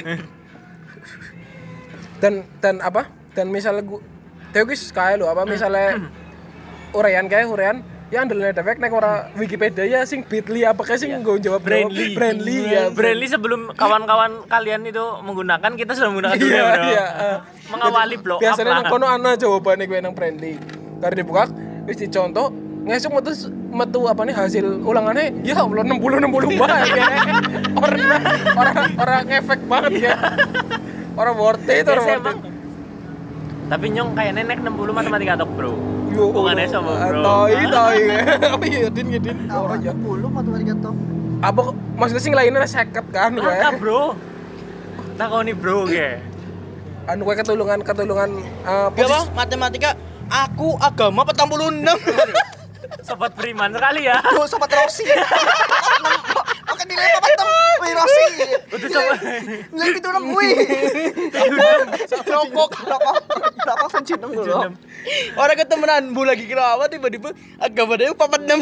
dan apa dan misalnya gue teogis kayak lo apa misalnya urean ya andelnya defek nek ora Wikipedia ya sing Bitly apa kayak sing nggo jawab Brandly ya Brandly sebelum kawan-kawan kalian itu menggunakan kita sudah menggunakan dulu ya, Bro. iya Mengawali blow up biasanya nang lah. kono ana jawabane gue nang Brandly karo dibuka wis dicontoh ngesuk metu apa nih hasil ulangannya ya Allah 60 bae ya orang ngefek banget ya orang worth it orang Biasa worth emang. it Tapi nyong kayak nenek 60 matematika tok, Bro. Yo, Hubungannya sama, Bro. Tai. Apa ya, Din? Orang ya 10 matematika toh. Apa maksudnya sing lainnya seket kan gue. Langka, Bro. Takoni, Bro, ge. Anu gue ketulungan Apa? Matematika aku agama 46. Sobat beriman sekali ya. Tuh sobat Rossi. Oke nilai apa tem? Wih Rossi. Udah coba. Nilai itu nang wih. Rokok pencinta dulu. Orang ketemenan bu lagi kira apa tiba-tiba agama dia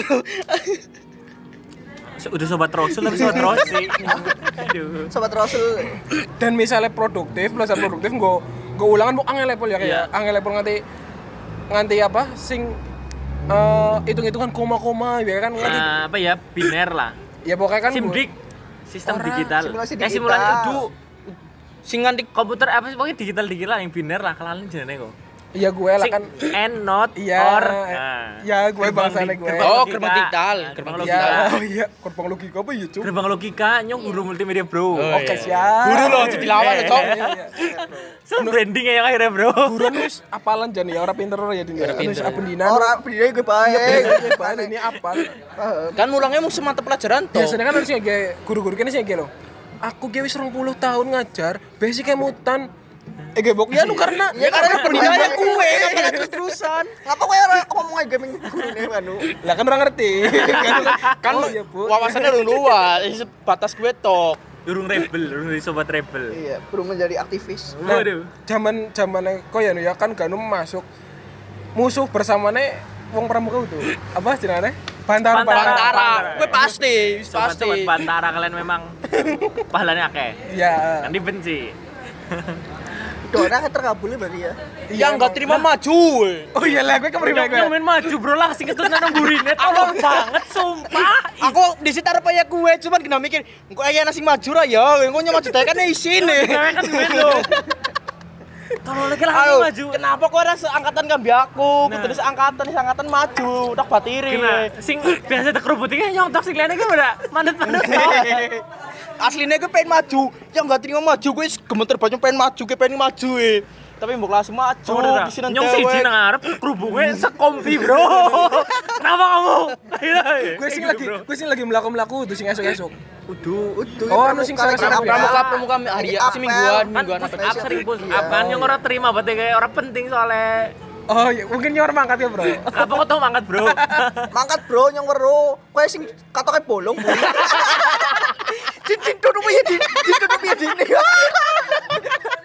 46. Udah sobat Rasul tapi sobat Rossi. Aduh. Sobat Rasul. Dan misalnya produktif, belajar produktif gue ulangan bu angel level ya kayak angel level nganti apa sing hitung-hitungan koma-koma ya kan nganti Apa ya? Biner lah. ya pokoknya kan Simdik. Sistem digital. simulasi digital. Simulasi itu Sing nganti komputer apa sih pokoknya digital lah yang biner lah kelalen jenenge kok. iya gue lah kan and not iya or. ya gue bangsane gue Gerbang gerbang digital, Nah, gerbang logika. ya oh iya gerbang logika apa ya cuk Gerbang logika nyong guru multimedia, Bro. oke siap guru loh jadi lawan cok. So brandingnya yang akhirnya, Bro. buruan wis apalan jan ya ora pinter ya Din ya wis apa dina Orang dia gue baik. ini apal Kan mulangnya mau semata pelajaran toh. biasanya kan harusnya kayak guru-guru kene sih kayak lo aku kayak wis 20 tahun ngajar basic kayak mutan gebok ya nu karena Pendidikannya kue kan terus-terusan. Ngapa gue orang ngomong aja gaming ini anu. lah kan orang ngerti Kan oh, iya, Bu. wawasannya udah luas, sebatas gue tok. Durung rebel, durung dari sobat rebel. Iya, belum menjadi aktivis. Waduh. zaman kok ya nu ya kan Ganum masuk musuh bersamane wong pramuka itu apa jenenge Bantara. Bantara. Gue pasti, pasti. Sobat Bantara kalian memang pahalanya akeh. Ya. Kan dibenci. Dona terkabulnya berarti ya. Yang enggak terima maju. Oh iya lah, gue kemari Yang main maju, Bro, lah sing ketut nang gurine tolong banget sumpah. Aku di situ arep ya gue, cuman kena mikir, engko aya nasi maju ra ya, engko nya maju dae kan isine. Cewek kan main lo. Tolong lagi lah Aduh, maju. kenapa kok ada seangkatan kambi aku? Kudu seangkatan maju, tak batiri. Kena sing biasa tekrubutinge nyontok sing lene ki ora manut-manut. Aslinya gue pengen maju, yang nggak terima maju gue gemeter banget pengen maju, gue pengen maju tapi mbok langsung maju di sini Nyong siji nang arep kerubunge sekompi, Bro. Kenapa kamu? Gue sing lagi melaku-melaku tuh sing esuk-esuk. Udu. Oh, anu sing sore-sore pramuka hari si mingguan Kan push up sering push up kan yang ora terima berarti kayak ora penting soalnya. Oh, iya, mungkin nyor mangkat ya, Bro. Apa kok tau mangkat, Bro? Mangkat bro, nyong weru. Kowe sing katoke bolong. Din duduk ya din.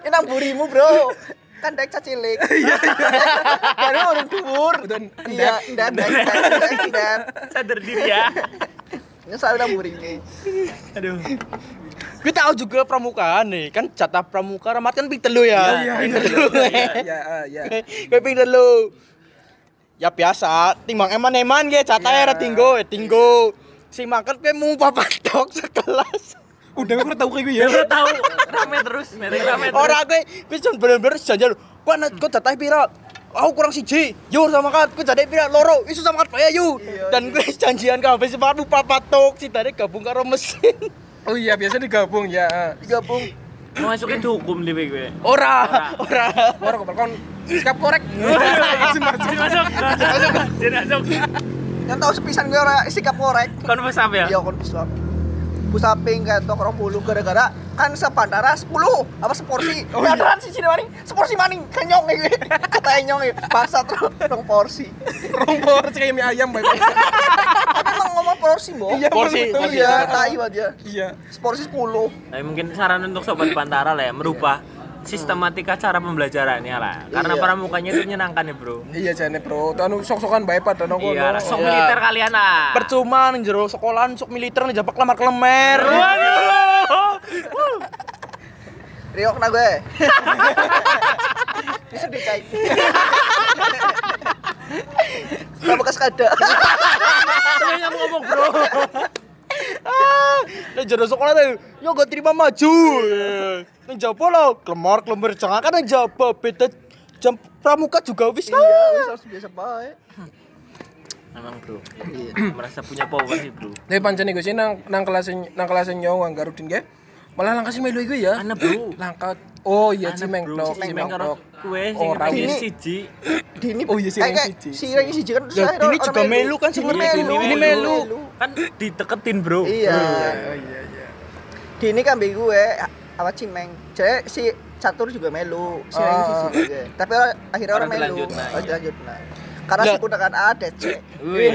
Nang burimu, Bro. Kan dek cilik. Iya. Baru orang dhuwur. Iya, ndak. Sadar diri ya. Nyesal nang burimu. Aduh. Gue tahu juga pramukaan nih, kan jatah pramuka Rahmat kan ping 3 ya. Iya. Gue ping 3. Ya biasa, timbang eman-eman ge jatahnya ra tinggo. Si makan gue mau papat tok sekelas. Udah gue tahu kayak gue ya. Gue tahu rame terus. Ora gue cuma bener-bener janjian. Kok jatah pira? Aku kurang siji. Yo sama kan, gue jatah pira loro. Isu sama kan ya yu. Dan gue janjian kabeh si makan papat tok, si tadi gabung karo mesin. Oh iya, biasa digabung ya. Digabung. Mau masukin dihukum di gue. Ora. Orang kon sikap korek. Masuk. Yang tahu sepisan gue ora sikap korek. Kon pesap ya? Iya, kon pusap. Pusaping kayak tok 20 gara-gara kan sepandara 10 apa seporsi. Beneran sih sini maning, seporsi maning kenyong iki. Kata nyong iki, paksa terus rong porsi. Rompor kayak mie ayam bae. Tapi emang ngomong porsi, Mbok. Porsi. Iya, tai aja. Iya. Seporsi 10. Tapi mungkin saran untuk sobat Pantara lah ya, merubah sistematika cara pembelajarannya lah. Karena Iya. pramukanya itu menyenangkan ya, Bro. Iya jane, Bro. Anu sok-sokan bae pada nang kono. Iya, sok Iya. militer kalian lah. Percuma ning jero sekolahan sok militer njabak lemar-lemer. Riok na gue. Bisa dicai. Enggak bekas kada. Tapi yang ngomong, Bro. Ning jero sekolah tuh, yo gak terima maju. Ning jaba lo, lemar-lemar jangan kan ning jaba beda jam pramuka juga wis lah. Iya, wis harus biasa bae. Emang, Bro. Iya. Merasa punya power sih, Bro. Tapi pancen iku sih nang kelas nyong Garudin ge. Malah langkah sih melu iku ya. Ana, Bro. Langkah. Oh iya Ana, Cimeng Bro. tok, Cimeng karo kue sing Ora, ranking ini- siji. Dini. Oh iya, si kayak ranking siji. Si ranking siji kan terus Lah, akhirnya Dini orang juga melu kan, Dini sebenarnya. melu. Dini melu. Kan diteketin, Bro. Iya. Oh iya. Dini kan bego gue apa Cimeng. Jadi si catur juga melu, si ranking siji juga. Tapi akhirnya orang melu. dilanjut, nah, iya. Dilanjut, nah. Karena Lah. si kudakan ada, Cek. Wih.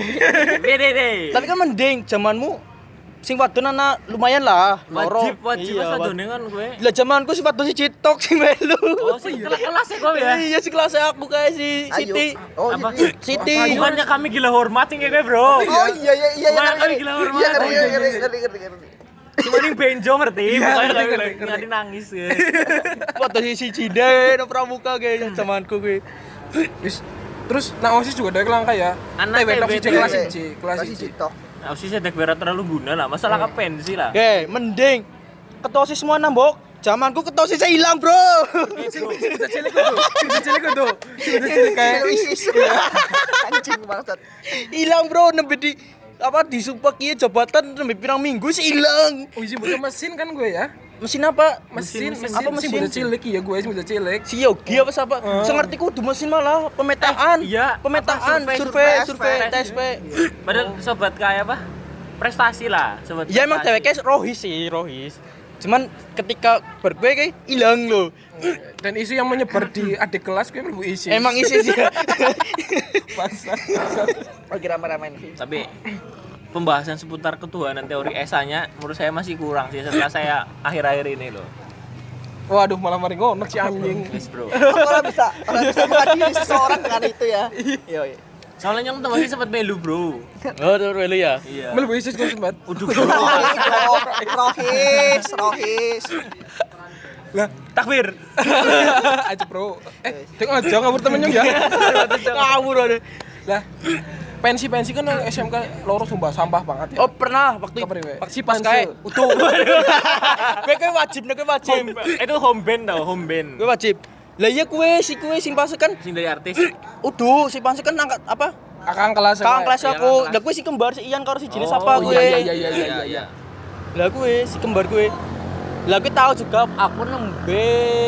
Dede. Tapi kan mending zamanmu sing wadon ana lumayan lah. loro. Wajib Iya, pas wadone kan gue. Lah zamanku sing wadon siji tok sing melu. Oh, sih kelas ya kok ya. Iya, si kelas aku kayak si Ayo. Siti. Oh, Apa? Siti. Siti. Bukannya kami gila hormat nih gue, Bro. Oh iya Lumayan kali ngerti. gila hormat. Iya Oh, iya, ngerti. Cuma nih benjo ngerti, Iya, pokoknya ngerti. ngerti nangis ya. Wadon siji deh no pramuka kayak zamanku gue. Wis terus nang OSIS juga ada langkah ya. Anak TW TW, kelas TW. 1, kelas 1. Tok. Nah, sih sedek berat terlalu guna lah, masalah pensi lah. Oke, mending ketosis semua nambok. Zamanku ketosisnya hilang, Bro. Bisa cilik tuh. Bisa cilik kayak ISIS. Anjing bangsat. Hilang, Bro, nembe di apa disumpah kieu jabatan nembe pirang minggu sih hilang. oh iya bukan mesin kan gue ya. Mesin apa? Mesin apa mesin? Bisa cilik ya gue bisa cilik. Si Yogi apa siapa? Sengerti kudu mesin malah pemetaan. iya, pemetaan, apa, survei, survei, TSP. Padahal sobat kayak apa? Prestasi lah, sobat. Ya emang prestasi. TWK rohis. Cuman ketika bergue kayak hilang loh. Dan isu yang menyebar di adik kelas gue lebih isi. Emang isi sih. Bangsat. Lagi rame-rame nih. Tapi pembahasan seputar ketuhanan teori esanya menurut saya masih kurang sih setelah saya akhir-akhir ini loh. Waduh malah mari ngono si anjing. Yes, Bro. Orang bisa mengadili seseorang dengan itu ya. Iya. Soalnya yang masih sempat melu, Bro. Oh, terus lu ya. Iya. Melu isi gue sempat. Rohis. Lah, Takbir. aja bro. Tengok aja ngawur temennya ya. Ngawur ada. Lah, pensi kan SMK loro sumpah sampah banget ya. Oh, pernah waktu Kapan, We? si pas kae utuh. Gue wajib. Itu home band tau, home band. Gue wajib. Lah iya kue sing pas kan Sing dari artis. utuh si pas kan angkat apa? Kakang kelas. Kakang kelas Iya, aku. kakang kelas. Lah gue si kembar si Ian karo si jenis Oh, apa gue. iya. Lah gue si kembar gue. Lah gue tahu juga aku nembe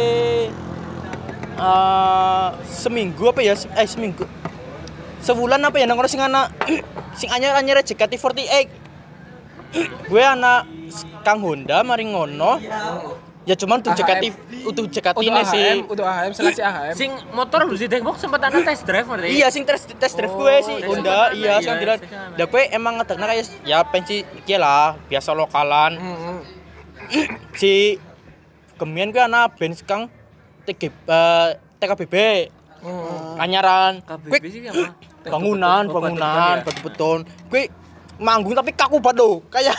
seminggu apa ya? Seminggu. Sebulan apa ya nang sing anak sing anyar-anyar JKT48. Gue anak Kang Honda mari ngono. Ya cuman tuh Untuk JKT-ne sih. Untuk AHM seleksi AHM. Sing motor lu sih Dengkok sempat ana test drive ngerti? Iya sing test drive Oh, gue sih tes Honda, drive iya iya, sing bilang. tes drive. Lah gue emang ngedekna kayak ya pensi iki lah, biasa lokalan. Si Kemien kuwi ana band kang TKBB. Anyaran. KBB sih apa? Bangunan, beton. Kuwi manggung tapi kaku banget lho. Kayak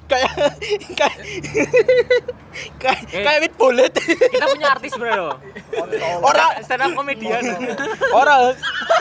wit bolet. Kita punya artis sebenarnya loh. Ora Stand up comedian. ora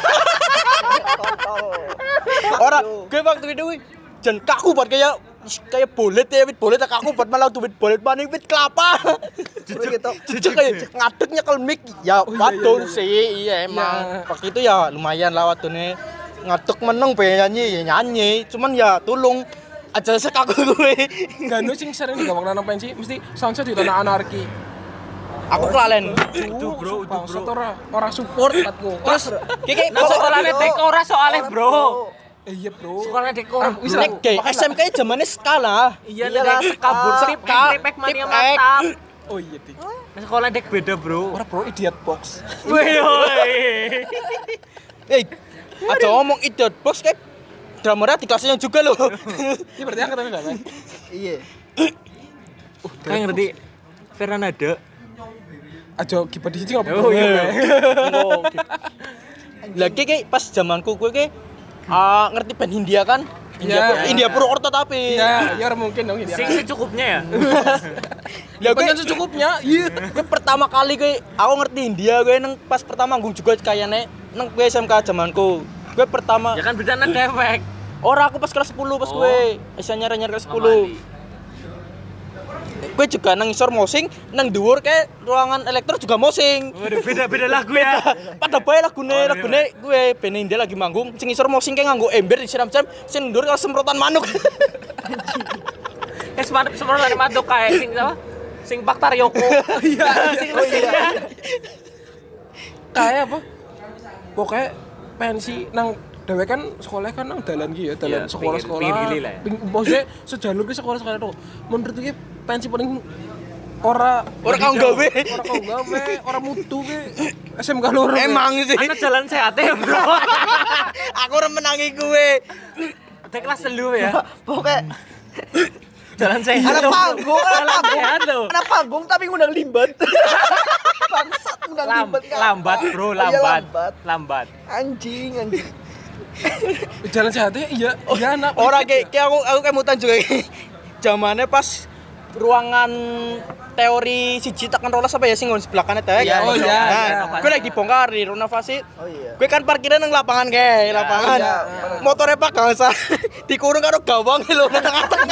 gue waktu itu jan kaku banget kayak bolet ya, wit bolet kaku banget malah tuh wit bolet maning wit kelapa. Jujur kayak ngadeknya kelmik ya wadon sih iya emang. Waktu itu ya lumayan lah wadone ngadek meneng pengen nyanyi cuman ya tulung aja sekaku gue. Ganu sing sering digawang nang pensi mesti soundset di tanah anarki. Aku kelalen. Itu bro. Ora support katku. Terus kiki Nah sekolahnya dekora soalnya bro. Iya, Bro. Sekolahnya dekora. wis nek SMK zamane skala. Iyalah sekabur tripek mania mantap. Oh iya, Dik. Nah sekolah dek beda bro. Ora Bro, idiot box. Woi. Aja ngomong idiot box kayak drummernya di kelasnya juga loh. Ini berarti angkatan berapa? Iya. Kayak ngerti Fernanda. Aja kiper di sini apa? Oh iya. Lagi kayak pas zamanku gue kayak ngerti band Hindia kan? India Purwokerto tapi. Iya, ya mungkin dong ini. Sing secukupnya ya. Ya kan secukupnya. Iya. Gue pertama kali aku ngerti Hindia gue nang pas pertama manggung juga kayaknya nang gue SMK zamanku. Gue pertama. Ya kan berita ada efek. Ora aku pas kelas 10 pas gue. Bisa nyari kelas 10. Gue juga nang isor mosing, nang dhuwur kayak ruangan elektro juga mosing. Waduh, beda lagu ya. Pada bae lagune gue band Hindia lagi manggung, sing isor mosing kayak nganggo ember disiram-siram, sing dhuwur kalau semprotan manuk. Semprotan manuk kayak sing apa? Sing Baktar Yoko. Iya. Kayak apa? Pokoknya pensi nang dewe kan sekolah kan nang dalan ki ya, dalan sekolah-sekolah. Pinggir gili lah. Maksudnya sejalur ki sekolah-sekolah itu. Menurut iki pensi paling ora kau gawe, ora mutu ki. SMK loro. Emang sih. Ana jalan sehat ya, Bro. Aku ora menangi gue. Tek kelas 3 ya. Pokoknya Jalan sehat. ada panggung, Jalan sehat loh. ada panggung tapi ngundang limbat. Bangsat ngundang limbat. Lambat, Bro, Iya, lambat. Anjing. Jalan sehatnya iya anak. Ora kayak aku kemutan juga. Zamannya pas ruangan teori siji tekan rolas apa ya sing nggon sebelah kanan teh. Iya, Gue lagi dibongkar di renovasi. Oh iya. Gue kan parkiran nang lapangan lapangan. Iya. Motornya Pak Gangsa dikurung karo gawang lho nang atas.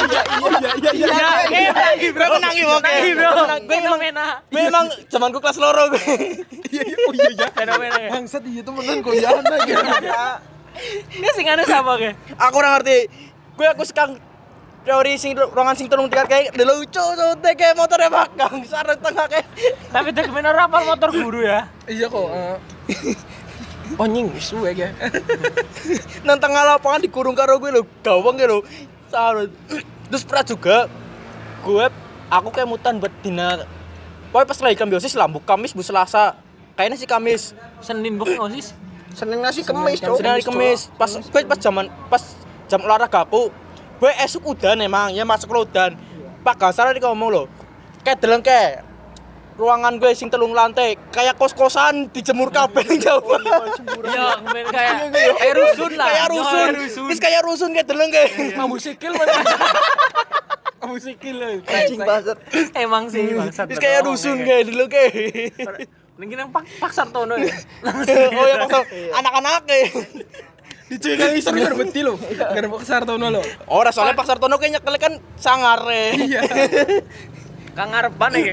Iya. Bro menangi oke. Gue emang zamanku kelas loro gue. Iya. Fenomena ya. Bangsat iya temenan kok ya ana gitu. Ini sing anu sama ke. Aku ora ngerti. Aku sekarang teori sing ruangan sing telung tingkat kayak lucu tuh kayak motornya Pak Gangsa nang tengah kayak. Tapi dek bener rapal motor guru ya. Iya kok. Onying suwe ya. Nang tengah lapangan dikurung karo gue lho, gawang lho. Terus pernah juga aku kayak mutan buat dina. Pokoknya pas lagi kambiosis lambu Kamis Bu Selasa. Kayaknya sih Kamis. Senin bukan osis. Senin nasi kemis, Cok. Senin hari Kamis. Pas jam olahraga aku. Gue esuk udan emang, ya masuk lo udan. Pak Gangsa tadi ngomong lo. Kayak deleng kayak ruangan gue sing telung lantai kayak kos-kosan dijemur kabel ning jauh. Iya, kayak rusun lah. Kayak rusun. Wis kayak rusun kayak deleng kayak. Mambu sikil mana? Mambu sikil lho. Anjing banget. Emang sih bangsat. Wis kayak rusun kayak deleng kayak. Ning nang Pak Sartono ya. Oh ya Pak anak-anak kayak. Dicekel isor kan beti lho. Gara Pak Sartono lho. Ora soalnya Pak Sartono kayak nyekel kan sangar. Iya. Kang ngarepan ya.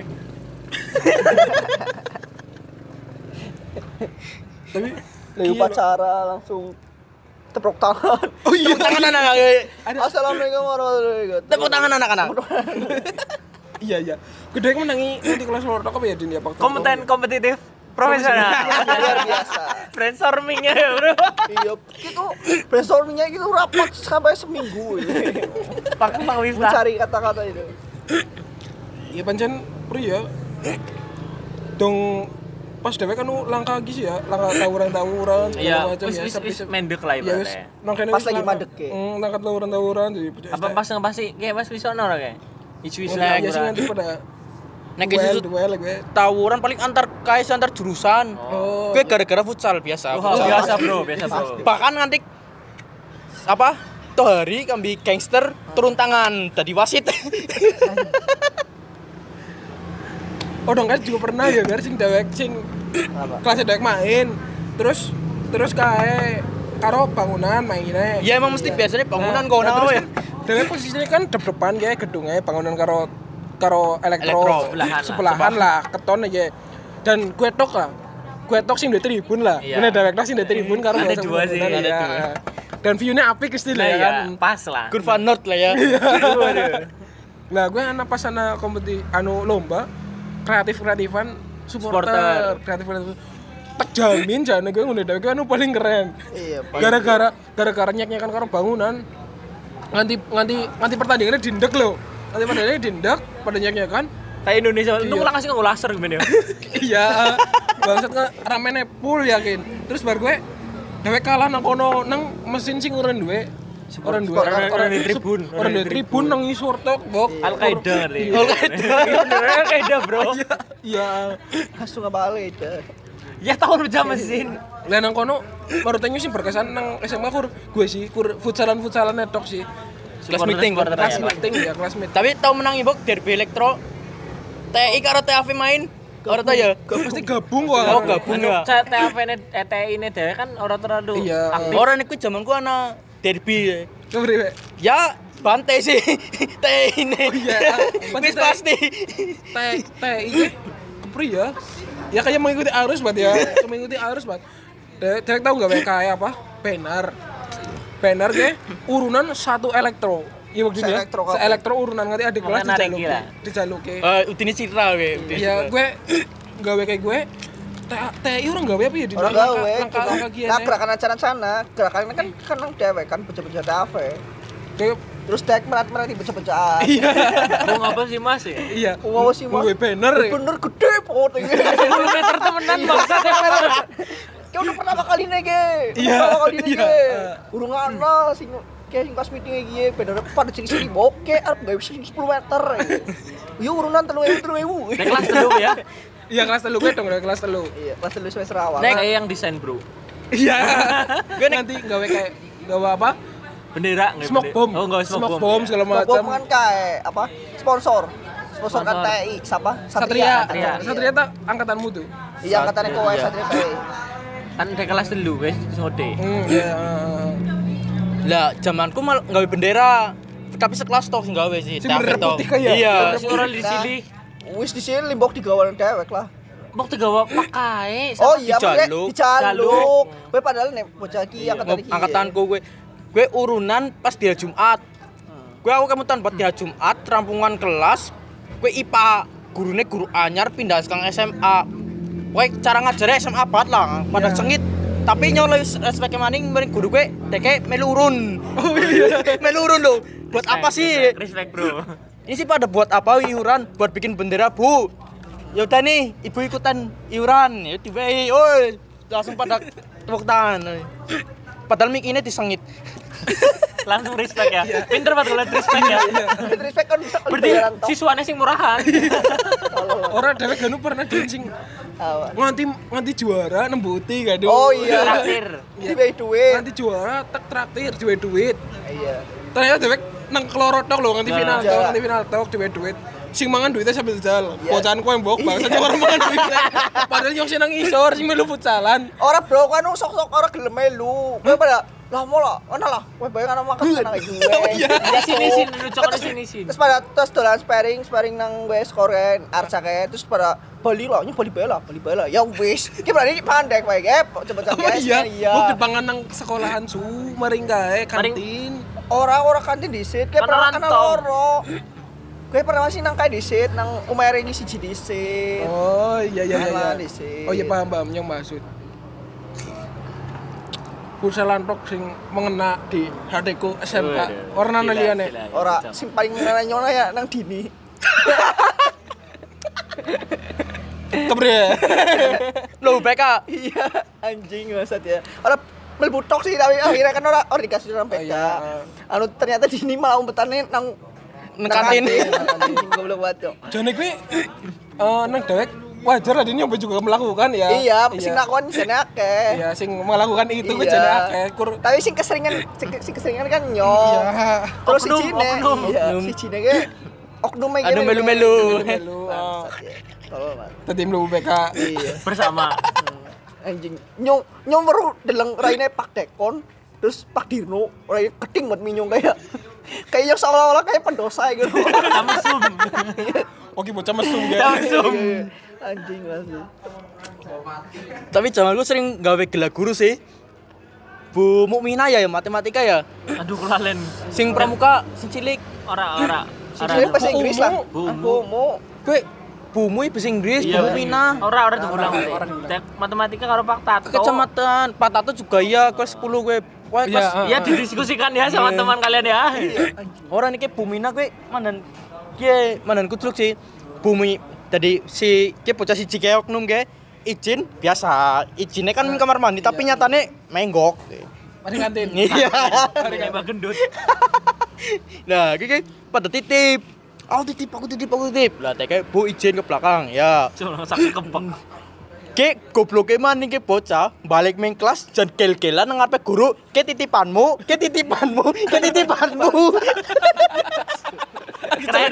Tapi Lagi upacara langsung tepuk tangan. oh iya Tepuk tangan anak-anak. Assalamualaikum warahmatullahi wabarakatuh. Tepuk tangan anak-anak. iya. Gede menangi nanti kelas loro apa ya Din ya Pak? Kompetitif profesional. Luar biasa. Brainstorming-nya ya, Bro. Iya, itu brainstorming-nya itu rapat sampai seminggu. Pak Wista. Mencari kata-kata itu. Iya pancen pri ya. Dong pas dhewe kan langka lagi sih ya, langka tawuran Iya, segala macam ya. wis mendek lah Iya wis ibaratnya. nangkene Pas lagi mandek ke. Nangkat tawuran jadi Apa pas ngepasti kayak pas wis ono ora kayak? Isu-isu lah lah. ya sih nanti pada Nek isu duel gue. tawuran paling antar KS antar jurusan. Oh. Gue gara-gara futsal biasa. Oh, Futsal. biasa bro. Bahkan nganti apa? Toh hari kambi gangster turun tangan tadi wasit. Oh dong kan juga pernah ya kan sing dewek sing kelas dewek main. Terus kae karo bangunan mainnya. Ya emang mesti biasanya bangunan kau terus nawe. kan dewek posisinya kan depan kayak gedungnya bangunan karo elektro sebelahan lah keton aja. Dan gue tok sing di tribun lah. Iya. Bener dewek sing di tribun karo Ada bahasa dua sih, bangunan, ada ya. dua. Dan view-nya apik pasti lah ya kan. Pas lah. Kurva North lah ya. Nah, gue anak pas ana kompetisi lomba kreatifan supporter. Kreatif. Tak jamin jane gue ngene dhewe anu paling keren. Iya, Gara-gara nyek-nyekan karo bangunan. Nganti pertandingannya dindek lho. Nanti pertandingannya dindek, pada nyek-nyekan. Kayak Indonesia, Iya. untung langsung nggak laser gimana ya? Iya. Bangsat kan ramene full yakin. Terus bar gue dhewe kalah nang kono nang mesin sing uren duwe. Orang di tribun. Orang di tribun nang ngisor tok, Bok. Al-Qaeda ngerti. Al-Qaeda bro. Iya. Langsung balik itu. Ya tahun jam mesin. Lah nang kono baru tanya sih berkesan nang SMA gue sih futsalan netok sih. Kelas meeting. Kelas meeting ya, kelas meeting. Tapi tau menang ibok derby elektro. TI karo TAV main. Ora tau ya? Pasti gabung kok. Oh, gabung ya. TI ini dhewe kan ora terlalu Iya. aktif. Orang iku zamanku ana derby. Kepriwe? Ya bantai sih. TI ini. Iya. Wis pasti. Teh iki kepri ya. Ya kayak mengikuti arus banget ya. Mengikuti arus banget. Dek tahu enggak kayak apa? Banner ge urunan satu elektro. Iya begini ya. Se-elektro urunan ngerti adik kelas dijaluki. Udine Citra we. Iya, gue gawe kayak gue TI orang gawe apa ya di Orang gawe. langkah gini. Nah, gerakan acara-acara, gerakannya kan nang dewek kan bocah-bocah kafe. Kayak Terus dek merat-merat di bocah-bocah. iya. Mau ngapa sih Mas ya? Iya. Wow sih, Mas. Gawe banner. Ya. Bener gede pot ini. 10 meter temenan bangsat ya. Kayak udah pertama kali nih, Ge. Iya. Pertama kali nih, Iya. Ge. Urung ana sing kayak kelas meeting iki bener pada sini boke arep gawe 10 meter. Yo urunan 3.000. Nek kelas dulu ya. Iya kelas 3 gue dong, kelas 3. Iya, kelas 3 semester awal. Nek saya yang desain, Bro. Iya. Gue nanti gawe kayak gawe apa? Bendera Smoke bomb. Oh, enggak Smoke bomb segala macam. Bom kan kayak apa? Sponsor kan TI siapa? Satria Satria. tak angkatanmu tuh. Iya, angkatannya kowe Satria. Satria TI. Kan nek kelas dulu wis ngode. Iya. Lah zamanku malah gawe bendera. Tapi sekelas toh sing gawe sih. Sing bendera toh. putih kayak. Iya. Terus orang di sini Wis di sini limbok digawan dewek lah. mau digawa pakai. Oh iya, dijaluk. dijaluk. Kowe padahal nek bocah iki angkatan iki. Angkatanku gue urunan pas di hari Jumat. Gue aku kemutan buat di hari Jumat rampungan kelas. Gue IPA, gurune guru anyar pindah sekarang SMA. Gue cara ngajarnya SMA banget lah, pada sengit. Tapi nyoleh respect maning mending guru gue deke melurun. Oh iya, melurun loh. Buat apa sih? Respect, Bro. Ini sih pada buat apa iuran? Buat bikin bendera, Bu. Ya udah nih, ibu ikutan iuran. Ya diwehi, oi. Langsung pada tepuk tangan. Padahal mic ini disengit. Langsung respect ya. Pinter banget kalau respect ya. Respect kan bisa Berarti siswanya sing murahan. Orang dewek ganu pernah dancing nganti juara nembuti gaduh. Oh iya. Traktir. Dibayar duit. Nganti juara traktir duit. Iya. Ternyata dewek nang keloro tok lho nganti final Iya. tok, nganti final tok duit. Sing mangan duitnya sambil jal. Iya. Bocahan ku embok bangsa sing orang mangan duitnya. Padahal nyong sing nang isor sing melu futsalan. Ora bro, kan sok-sok ora gelem melu. Kowe pada lah mau lah, ana lah. Kowe bayang ana makan nang gue. Iya. Di sini nucok di sini. Terus pada terus dolan sparing nang gue skoren Arca kayak terus pada bali lah, bali bala. Ya wis. Ki berani pandek wae ge, coba Oh iya. Buk dipangan nang sekolahan su maring gae kantin. Ora kantin disit, kayak pernah ana loro. Kowe pernah masih nang kae disit nang umere iki siji disit. Oh iya. Disit. Oh iya paham yang maksud. Futsalan tok sing mengena di hatiku SMK. Warna liyane. Ora sing paling nyona ya nang dini. Kebre. Loh, BK. Iya, anjing maksud ya. Ora mlebu tok sih tapi akhirnya kan ora dikasih nang BK. Iya. Anu ternyata dini malah umpetane nang nang kantin. Anjing goblok banget, Cok. Jane kuwi nang dewek wajar lah dia nyoba juga melakukan ya. Iya, sing lakon jane akeh. Iya, sing melakukan itu kuwi Iya. jane akeh. Tapi sing keseringan kan nyong. Iya. Terus Oknum, sijine, oknum. iya, sijine ge oknum iki. Anu melu-melu. Bangsat, ya. Tolol banget. Tadi mlebu BK. Iya. bersama. Anjing. Nyong baru deleng raine Pak Dekon, terus Pak Dirno, raine keting banget minyong kayak yang seolah-olah kayak pendosa gitu. Samsung. Oke, bocah mesum ya. Samsung. Anjing langsung. Tapi zaman lu sering gawe gela guru sih. Bu Mukminah ya matematika ya. Aduh kelalen. Sing pramuka, sing cilik. Ora. Sijine bahasa Inggris lah. Bumu. Kowe bumu bahasa Inggris, Bu Mukminah. Ora diulang. Matematika karo Pak Tato. Kecamatan Pak Tato juga iya kelas 10 gue. Wah, Iya, kelas Iya didiskusikan ya sama teman kalian ya. orang iki Bumina kowe mandan kucluk sih. Bumi tadi si ki bocah siji ke oknum ke izin biasa. Izinnya kan kamar mandi tapi nyatane menggok. Mari kantin. Iya. Ini Mbak Gendut. Nah, iki pada titip. Aku titip. Lah teke Bu izin ke belakang. Ya. Cuma sak kempeng. Ki gobloke maning ki bocah balik main kelas jan gel-gelan nang ngarepe guru, ki titipanmu. Keren.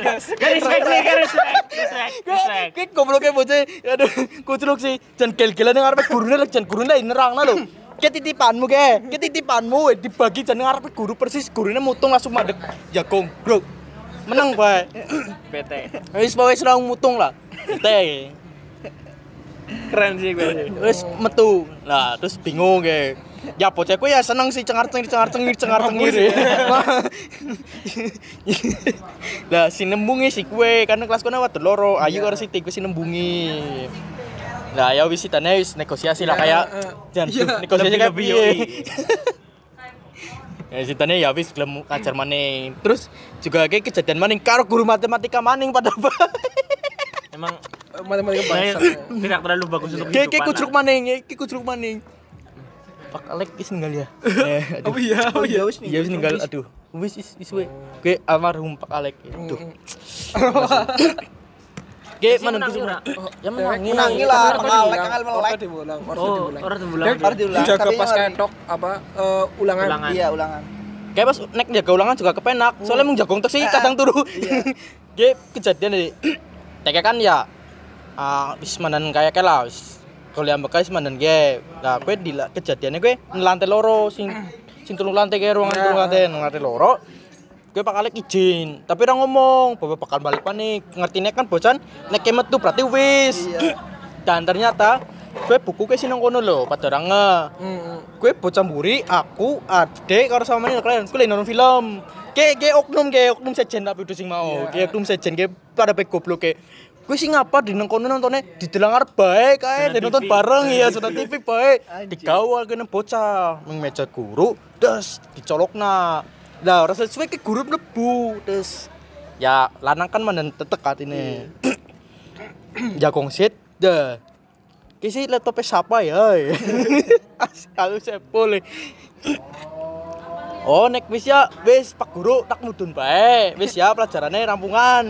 Respect. Ki gobloke bocah aduh kucluk sih jan gel-gelan nang ngarepe gurune lek jan gurune nerangna lho. Ki titipanmu dibagi jan nang ngarepe guru persis gurune mutung langsung madeg jagung. Bro. Menang bae. PT. Wis langsung mutung lah. Teh. Keren sih gue. Wis metu. Lah terus bingung ge. Ya bocahku ya seneng sih cengar-cengir. Lah si nembungi si kue karena kelas kono waduh loro. Ayu karo Siti ku si nembungi. Lah ya wis sitane wis negosiasi lah kayak jan negosiasi kayak piye. Ya sitane ya wis gelem ngajar maning. Terus juga kayak kejadian maning karo guru matematika maning pada Emang Matematika saya bangsa. tidak terlalu bagus untuk Ki kehidupan. kucruk maning. Pak Alek wis ninggal ya. Oh iya. Iya wis ninggal. Aduh. Wis we. Ki almarhum Pak Alek. Aduh. Ki Si mana menangi ora? Ya menangi. Menangi lah, melek Ordo diulang. Orang diulang. Harus diulang. Jaga Tapi pas yang ketok apa ulangan. Ulangan. Iya, ulangan. Kayak pas nek jaga ulangan juga kepenak. Soalnya mung jagong tek sih kadang turu. Ki kejadian iki. Teke kan ya wis mandan kaya lah wis. Kalau yang bekas mandan ge. Lah kowe di kejadiannya kowe lantai loro sing telung lantai ke ruangan telung lantai loro. Kowe bakal izin, tapi ora ngomong, bapak bakal balik panik. Ngertine kan bocan nek metu berarti wis. Iya. Dan ternyata kowe buku ke sinang kono lho, padha ora nge. Kowe bocah mburi, aku, adek karo sama meneh kalian kowe nonton film. Oknum sejen tapi sing mau. Ki oknum sejen ki pada pe goblok ke. Kowe sing ngapa di nang kono nontone didelang arep bae kae, nonton bareng ya sudah TV bae. Digawal kene bocah ning meja guru, des dicolokna. Lah ora sesuai ke guru mlebu, des. Ya lanang kan menen tetek atine. Jagong sit, dah. Kisi laptop siapa ya? Kalau saya boleh. Oh, nek wis ya, wis Pak Guru tak mudun bae. Wis ya pelajarannya rampungan.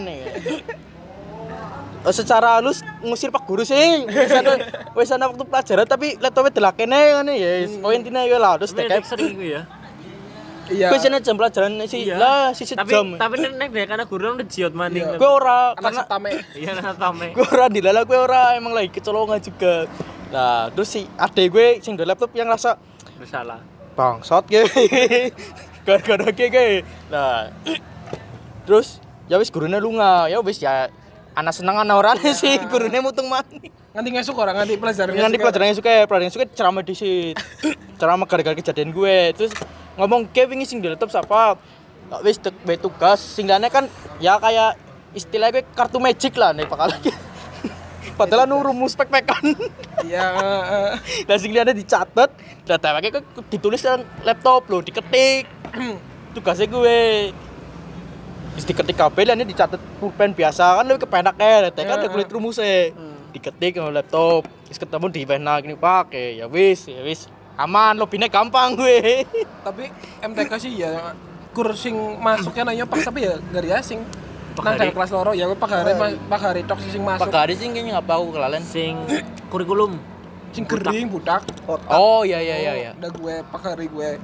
Secara halus ngusir Pak Guru sih. Wis ana waktu pelajaran tapi laptopnya delakene ngene ya. Poin intine ya lah terus Tapi tek. sering gue ya. Iya. Wis ana jam pelajaran sih lah sisi jam. Tapi nek deh karena guru udah jiot maning. Gue ora Karena karena tame. Iya anak tame. gue ora dilala gue ora emang lagi kecolongan juga. Nah, terus si adek gue sing duwe laptop yang rasa Bersalah. bangsat ge. Gara-gara ge. Nah. Terus ya wis gurune lunga. Ya wis ya ana seneng ana orane sih gurune mutung maning. Nganti ngesuk orang nganti pelajaran. Nanti pelajarannya suka ceramah di situ. Ceramah gara-gara kejadian gue. Terus ngomong ke wingi sing di laptop siapa? Wis tugas sing lane kan ya kayak istilahnya kartu magic lah nih bakal. Padahal nu rumus pek-pekan. Iya, Lah sing lane dicatat, data pakai ditulis nang laptop lho, diketik. Tugasnya gue. Wis diketik kabel lane dicatat pulpen biasa kan lebih kepenak kan ada kulit rumusnya. Diketik nang laptop. Wis ketemu di pena gini pakai. Ya wis. Aman, lobine gampang gue. tapi MTK sih ya kur sing masuknya nanya pas tapi ya dari asing. nang dalam kelas loro ya pagari tok sing masuk. Pagari sing kayaknya ngapa aku kelalen. Sing kurikulum. Sing gering budak. Oh iya. Udah gue pagari gue.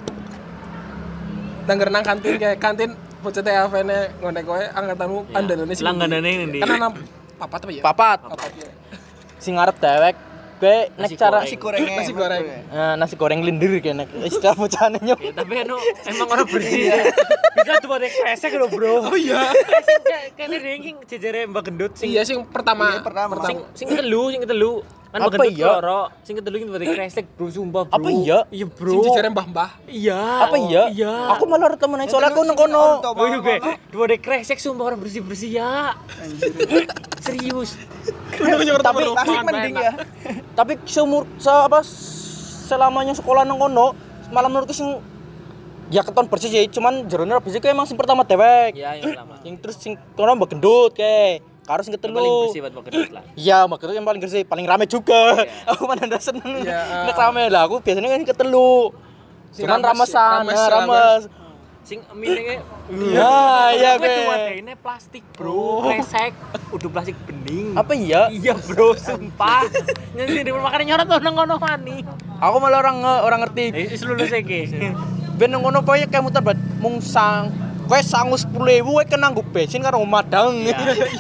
Nang kantin kayak kantin bocah THV-ne ngene kowe angkatanmu andalane sing. Langganane ndi? Kan ana papat apa ya? Papat. Ya. Sing ngarep dewek gue nek cara Nasi gorengnya. Nasi goreng. nasi goreng lindir kene istilah bocahane nyok. Ya, tapi emang orang bersih. Bisa tuh pakai kresek lho, Bro. Oh iya. Kene ranking jejere Mbak Gendut sing Iya sing pertama. sing ketelu. Kan Apa Mbak Gendut iya? loro, sing ketelu iki pakai kresek, Bro, sumpah, Bro. Apa iya? Iya, Sing Bro. jejere mbah-mbah. Iya. Apa iya? Iya. Aku malah temen soalnya aku nang kono. Oh iya, gue. Dua dek kresek sumpah orang bersih-bersih ya. Serius. Tapi Pasti mending ya. Tapi selamanya sekolah nang kono malah menurutku sing ya keton bersih sih, cuman jerone bersih kayak emang sing pertama dewek. Iya, yang lama. Yang terus sing kono mbak gendut kayak karo sing Yang paling ketelu. bersih buat Mbak Gendut lah. Iya, mbak gendut yang paling bersih, paling rame juga. Aku mana ndak seneng. Iya, Nek rame lah aku biasanya kan ketelu. Sing Cuman rames, ramesan, rames, rames. Sing minenge Iya, gue Be. cuma ini plastik, Bro. Kresek. Udah plastik bening. Apa iya? Iya, Bro, sumpah. Nyanyi di makane nyorot tuh nang ngono mani. Aku malah orang ngerti. Wis lulus iki. Ben nang ngono pokoke kayak muter bat mung sang. Kowe sangu 10.000 kowe kena nggo bensin karo madang. Iya.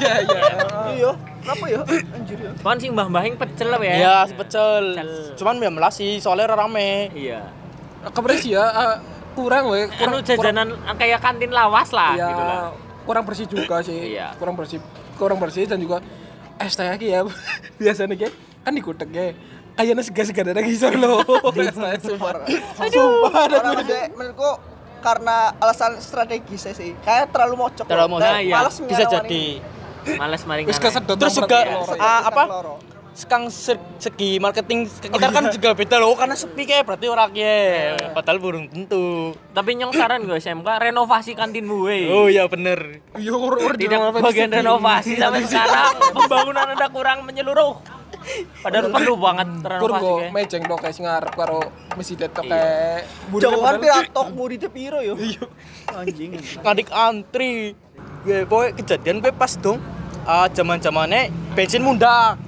Iya. Kenapa ya? Anjir ya. Kan sing mbah-mbah yang pecel apa ya? Iya, pecel. Pecel. Cuman ya melasi soalnya rame. Iya. Kabar sih ya kurang we. Anu jajanan kayak kantin lawas lah Iya, gitu lah. kurang bersih juga sih. Iya. Kurang bersih dan juga es teh lagi ya. Biasanya kayak kan dikutek ya. Kayaknya segar-segar ada lagi solo. Es teh sumpah. Sumpah ada Orang maksudnya menurutku karena alasan strategis sih. Kayak terlalu mocok. Terlalu mocok. Dan Iya. Males Bisa nyaranin. jadi. Males maring. Wis kesedot. Terus nang juga loro ya. apa? Loro. Sekang segi marketing kita kan juga beda loh karena sepi kayak berarti orangnya padahal burung tentu. Tapi nyong saran gue SMK renovasi kantinmu we. Oh iya bener. Iya urut Tidak bagian renovasi sampai sekarang pembangunan Anda kurang menyeluruh. Padahal perlu banget renovasi Kurgo kayak. mejeng tok kayak sing ngarep karo masjid tok kayak Jauhan piratok muridnya piro yo. Iya. Anjing. Ngadik antri. Gue pokoknya kejadian gue pas dong zaman-zamannya bensin mundak.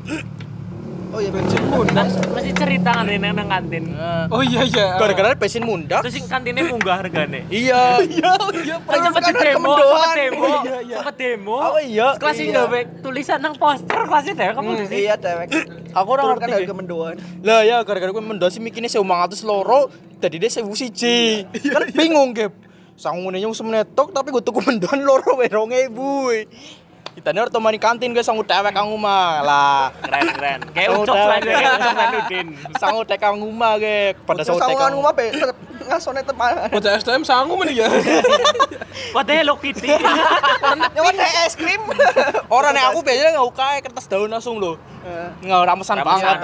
Oh iya bensin pun. Dan masih cerita kan nang kantin. Oh iya. Gara-gara bensin mundak. Terus sing kantinnya munggah hargane. Iya. Kan sempat demo, sempat demo. Oh iya. Kelas sing gawe tulisan nang poster kelasnya deh kamu di sini. Iya dewek. Aku orang Turunkan ngerti. harga mendoan. Lah ya gara-gara gue mendosi mikirnya 1.500 loro, jadi dia 1.000 kan bingung gap. Sangune nyung semenetok tapi gue tuku mendoan loro we 2.000. Kita nih harus temani kantin gue sangu dewek kang umah lah. Keren. Kayak Oh, ucok dewek. lah dia kayak ucok Nudin. Sangu dek kang umah ge. Pada sangu dek Sangungan kang rumah pe ngasone teman. Bocah STM sangu men ya. Padahal Hello Kitty. Nyawan es krim. Orang nek aku biasanya nggak ukai kertas daun langsung loh. Nggak ramesan banget.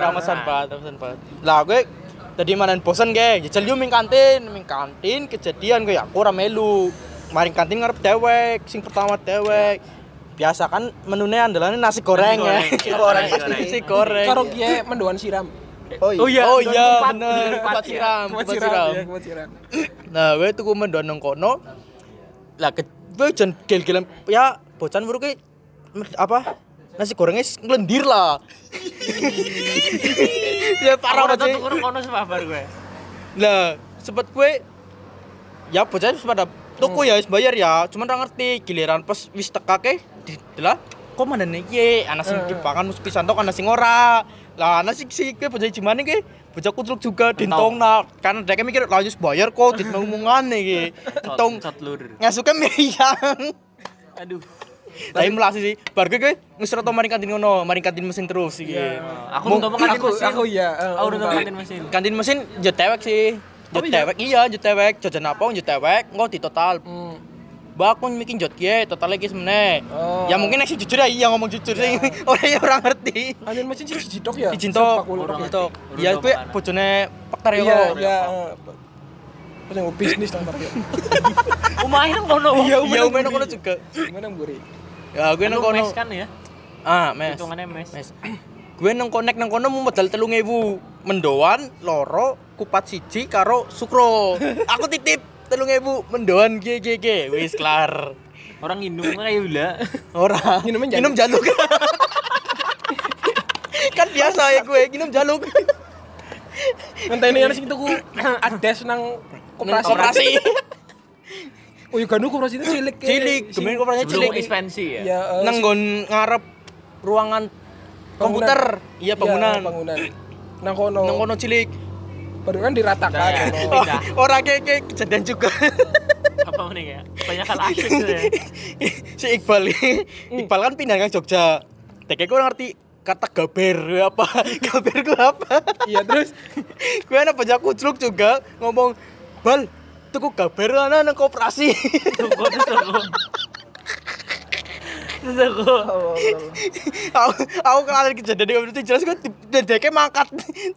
Lah gue tadi manan bosen ge, jajal yo ming kantin kejadian gue aku ora melu. Maring kantin ngarep dewek, sing pertama dewek. Biasa kan menunya andalannya nasi goreng ya. Nasi goreng. Karo kiye mendoan siram. Oh iya. Oh iya, Oh iya tempat- bener, tempat tempat ya. siram, Kuat tempat siram. siram. Iya, kuat siram. Nah, gue tuku mendoan nang kono. Lah gue jan gel-gelan ya bocan buru ki apa? Nasi gorengnya ngelendir lah. Ya parah Orang tuh banget. kurang kono sebabar gue. Lah, sempet gue ya bocah wis pada tuku ya wis bayar ya, cuman ora ngerti giliran pas wis tekake lah kok manane iki ana sing dipangan mus pisan tok ana sing ora. Lah ana sing ke bocah jimane ki bocah kutruk juga dintongna kan dhek mikir lah wis bayar kok ditongongane iki. Tong Catlur. ngasuke meyang. Aduh. Tapi melasi sih, bar gue wis ora tau maring kantin ngono, maring kantin mesin terus iki. Aku nonton kantin mesin. Aku iya. Aku nonton kantin mesin. Kantin mesin yo tewek sih. Yo tewek iya, yo tewek jajan apa yo tewek, engko di total. Mbak aku mikir jot ye, total lagi semene. Oh. Ya mungkin nek sing jujur ya iya ngomong jujur sing orang ngerti. Kantin mesin sih siji tok ya. Izin tok, Orang tok. ngerti. Ya Urut kuwi apaan? bojone Pakar yo. Iya, iya. Pas yang bisnis nang ya. Umahin kono. Iya, umene kono juga. Gimana Mburi? Ya gue nang Lu kono. mes kan ya? Ah, mes. Hitungannya mes. Mes. Gue nang kono mau modal 3.000. Mendoan, loro, kupat siji karo sukro. Aku titip 3.000 mendoan GGG wis kelar. Orang minum kayak gula. Ora. Minum jaluk. Kan biasa ya gue minum jaluk. Ngenteni ana sing tuku ades nang Koperasi. Oh, iya kan koperasi itu cilik. Gemen koperasi Sebelum cilik. ekspansi ya. Ya, Nang nggon ngarep ruangan komputer. Iya bangunan. Nang kono Cilik. baru kan diratakan. Ya. kono. Orang kayak kejadian juga. Apa nih ya? Banyak hal asik ya. Si Iqbal kan pindah ke Jogja. Teknya gue ngerti kata gaber apa. Gaber gue apa? Iya, terus Gue anak banyak kucluk juga ngomong, "Bal, tuku gaber ana nang koperasi." Aku. Aku kenal kejadian itu jelas gue dedeknya mangkat.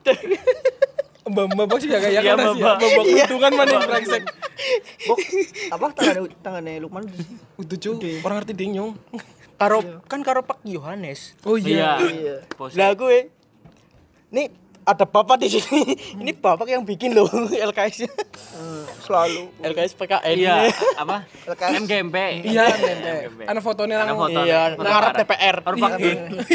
mbak sih ya kayak Iya, kan sih. Mbak. Mbak keuntungan mana yang brengsek. Bok, apa tangannya Lukman Udah cuy, orang ngerti dinyong. Karo Pak Yohanes. Oh Iya. Iya. Lah gue nih ada bapak di sini. Ini bapak yang bikin loh LKS. Selalu LKS PKN. Iya, apa? LKS. MGMP. Iya, ana fotonya Ada nang foto. Iya, ngarep DPR. Baru pakai.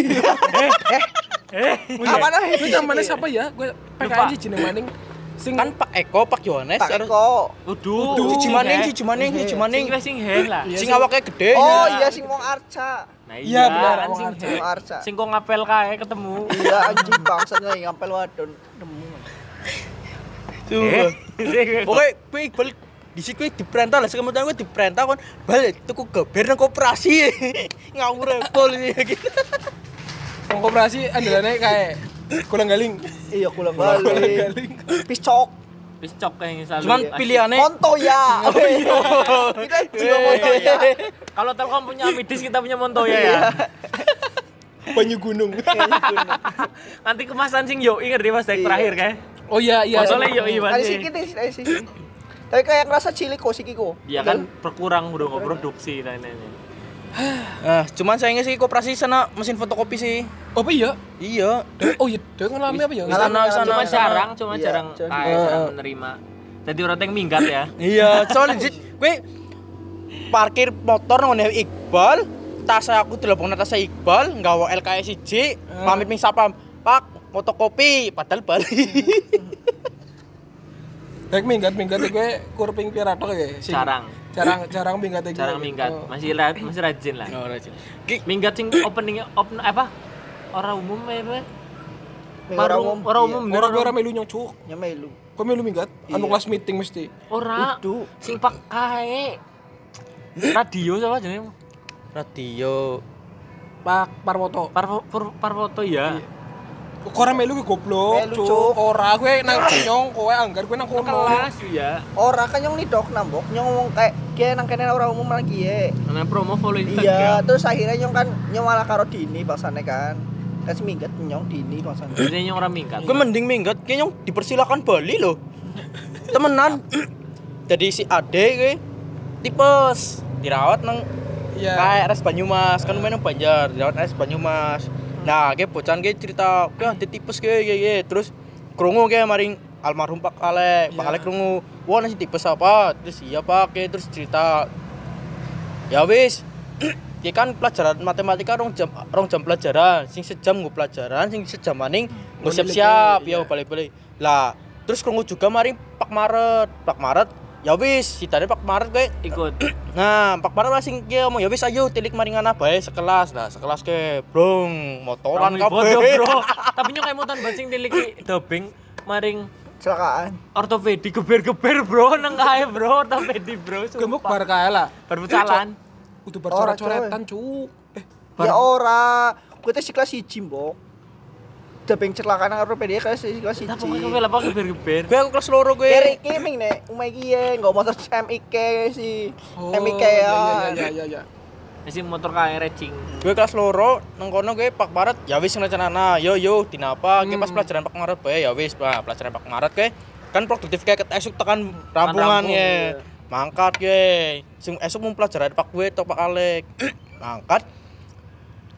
Apa nah itu namanya siapa ya? Gue PKN sih jeneng maning. Sing Kan Pak Eko, Pak Yohanes, Pak Eko. Uduh. Siji maning. Sing he lah. Sing awake gede. Oh iya sing wong Arca. Nah Iya, benar, kan Wong sing Arca. he. Wong Arca. Sing kok ngapel kae ketemu. Iya anjing bangsatnya ngampel wadon nemu. Tuh. Oke, gue Iqbal di situ gue diperintah lah, kemudian gue diperintah kan balik tuku gaber nang koperasi. Ngawur pol gitu. wong koperasi andalannya kayak kulang-galing. Iya kulang balik. Piscok. Wis cok kayak selalu. Cuman ya. pilihannya Montoya. Kita juga Montoya. Kalau Telkom punya Midis, kita punya Montoya ya. Banyu gunung. Nanti kemasan sing Yoi ngerti pas dek terakhir kayak. Oh iya. Fotonya Yoi Ada pasti. sikit sih. Tapi kayak ngerasa cilik kok sikiko. Iya kan berkurang udah nggak produksi dan ini. cuman sayangnya sih koperasi sana mesin fotokopi sih. Oh apa iya? Iya. Oh iya, dia ngalami apa ya? Cuma jarang, Iya, jarang menerima. Jadi orang yang minggat ya. Iya, soalnya gue parkir motor nang Iqbal, tas aku dilebokno tas Iqbal, nggawa LKS 1, pamit ming sapam, "Pak, fotokopi," padahal bali. Dek minggat gue kurping piratok ya. Jarang minggat iki. Jarang minggat. Masih rajin lah. Oh, rajin. Minggat sing opening apa? Orang umum apa? Orang umum. Orang melu nyong cuk. Nyamelu. Kok melu minggat? Anu kelas meeting mesti. Ora. Sing pakai radio siapa jenenge? Radio Pak Parwoto. Parwoto ya. Kok ora melu ki goblok, Melu, cuk. Cuk. Ora kowe nang nyong, kowe anggar kowe nang kono. Kelas ya. Ora kan nyong nidok nambok nyong ngomong kayak nang kene orang umum lagi ya. Ana promo follow Iya, Instagram. terus akhirnya nyong malah karo Dini bangsane kan. Kan seminggat nyong Dini bangsane. Jadi yang orang minggat. gue mending minggat kayaknya dipersilakan Bali loh. Temenan. Jadi si Ade gue tipes dirawat nang kayak RS Banyumas, kan lumayan Banjar, dirawat RS Banyumas. Nah, kayak bocan kayak cerita, kayak ada tipes kayak terus krungu kayak maring almarhum Pak Alek, Pak Alek krungu, wah nasi tipes apa? Terus iya Pak, kayak terus cerita. Ya wis, dia kan pelajaran matematika rong jam pelajaran, sing sejam gue pelajaran, sing sejam maning gue siap-siap, ya balik-balik. Lah, terus krungu juga maring Pak Maret, ya wis, si tadi Pak Maret gue Ikut. Nah, Pak Maret sing dia ngomong ya wis ayo tilik maringana bae sekelas. Nah, sekelas ke brong motoran Bodoh, kabeh. bro. Tapi nyok kayak mutan bancing tiliki dobing maring Kecelakaan. ortopedi geber-geber bro nang kae bro ortopedi bro. Gemuk bar kae lah. Berbucalan. Udah bar coret-coretan cuk. Ya ora, gue teh kelas 1, Mbok. Dabeng kecelakaan nang ortopedi kelas 1. Apa kok apa geber-geber? Gue aku kelas loro gue. Kere iki ming nek umai iki nggo motor MIK si MIK ya. Iya. Masih motor kae racing. Gue kelas loro nang kono gue Pak Maret ya wis rencanana. Yo dinapa? Gue pas pelajaran Pak Maret bae ya wis, Pak. Pelajaran Pak Maret gue kan produktif kayak esuk tekan rampungan ya. Mangkat gue. Sing esuk mau pelajaran Pak gue atau Pak Alek. Mangkat.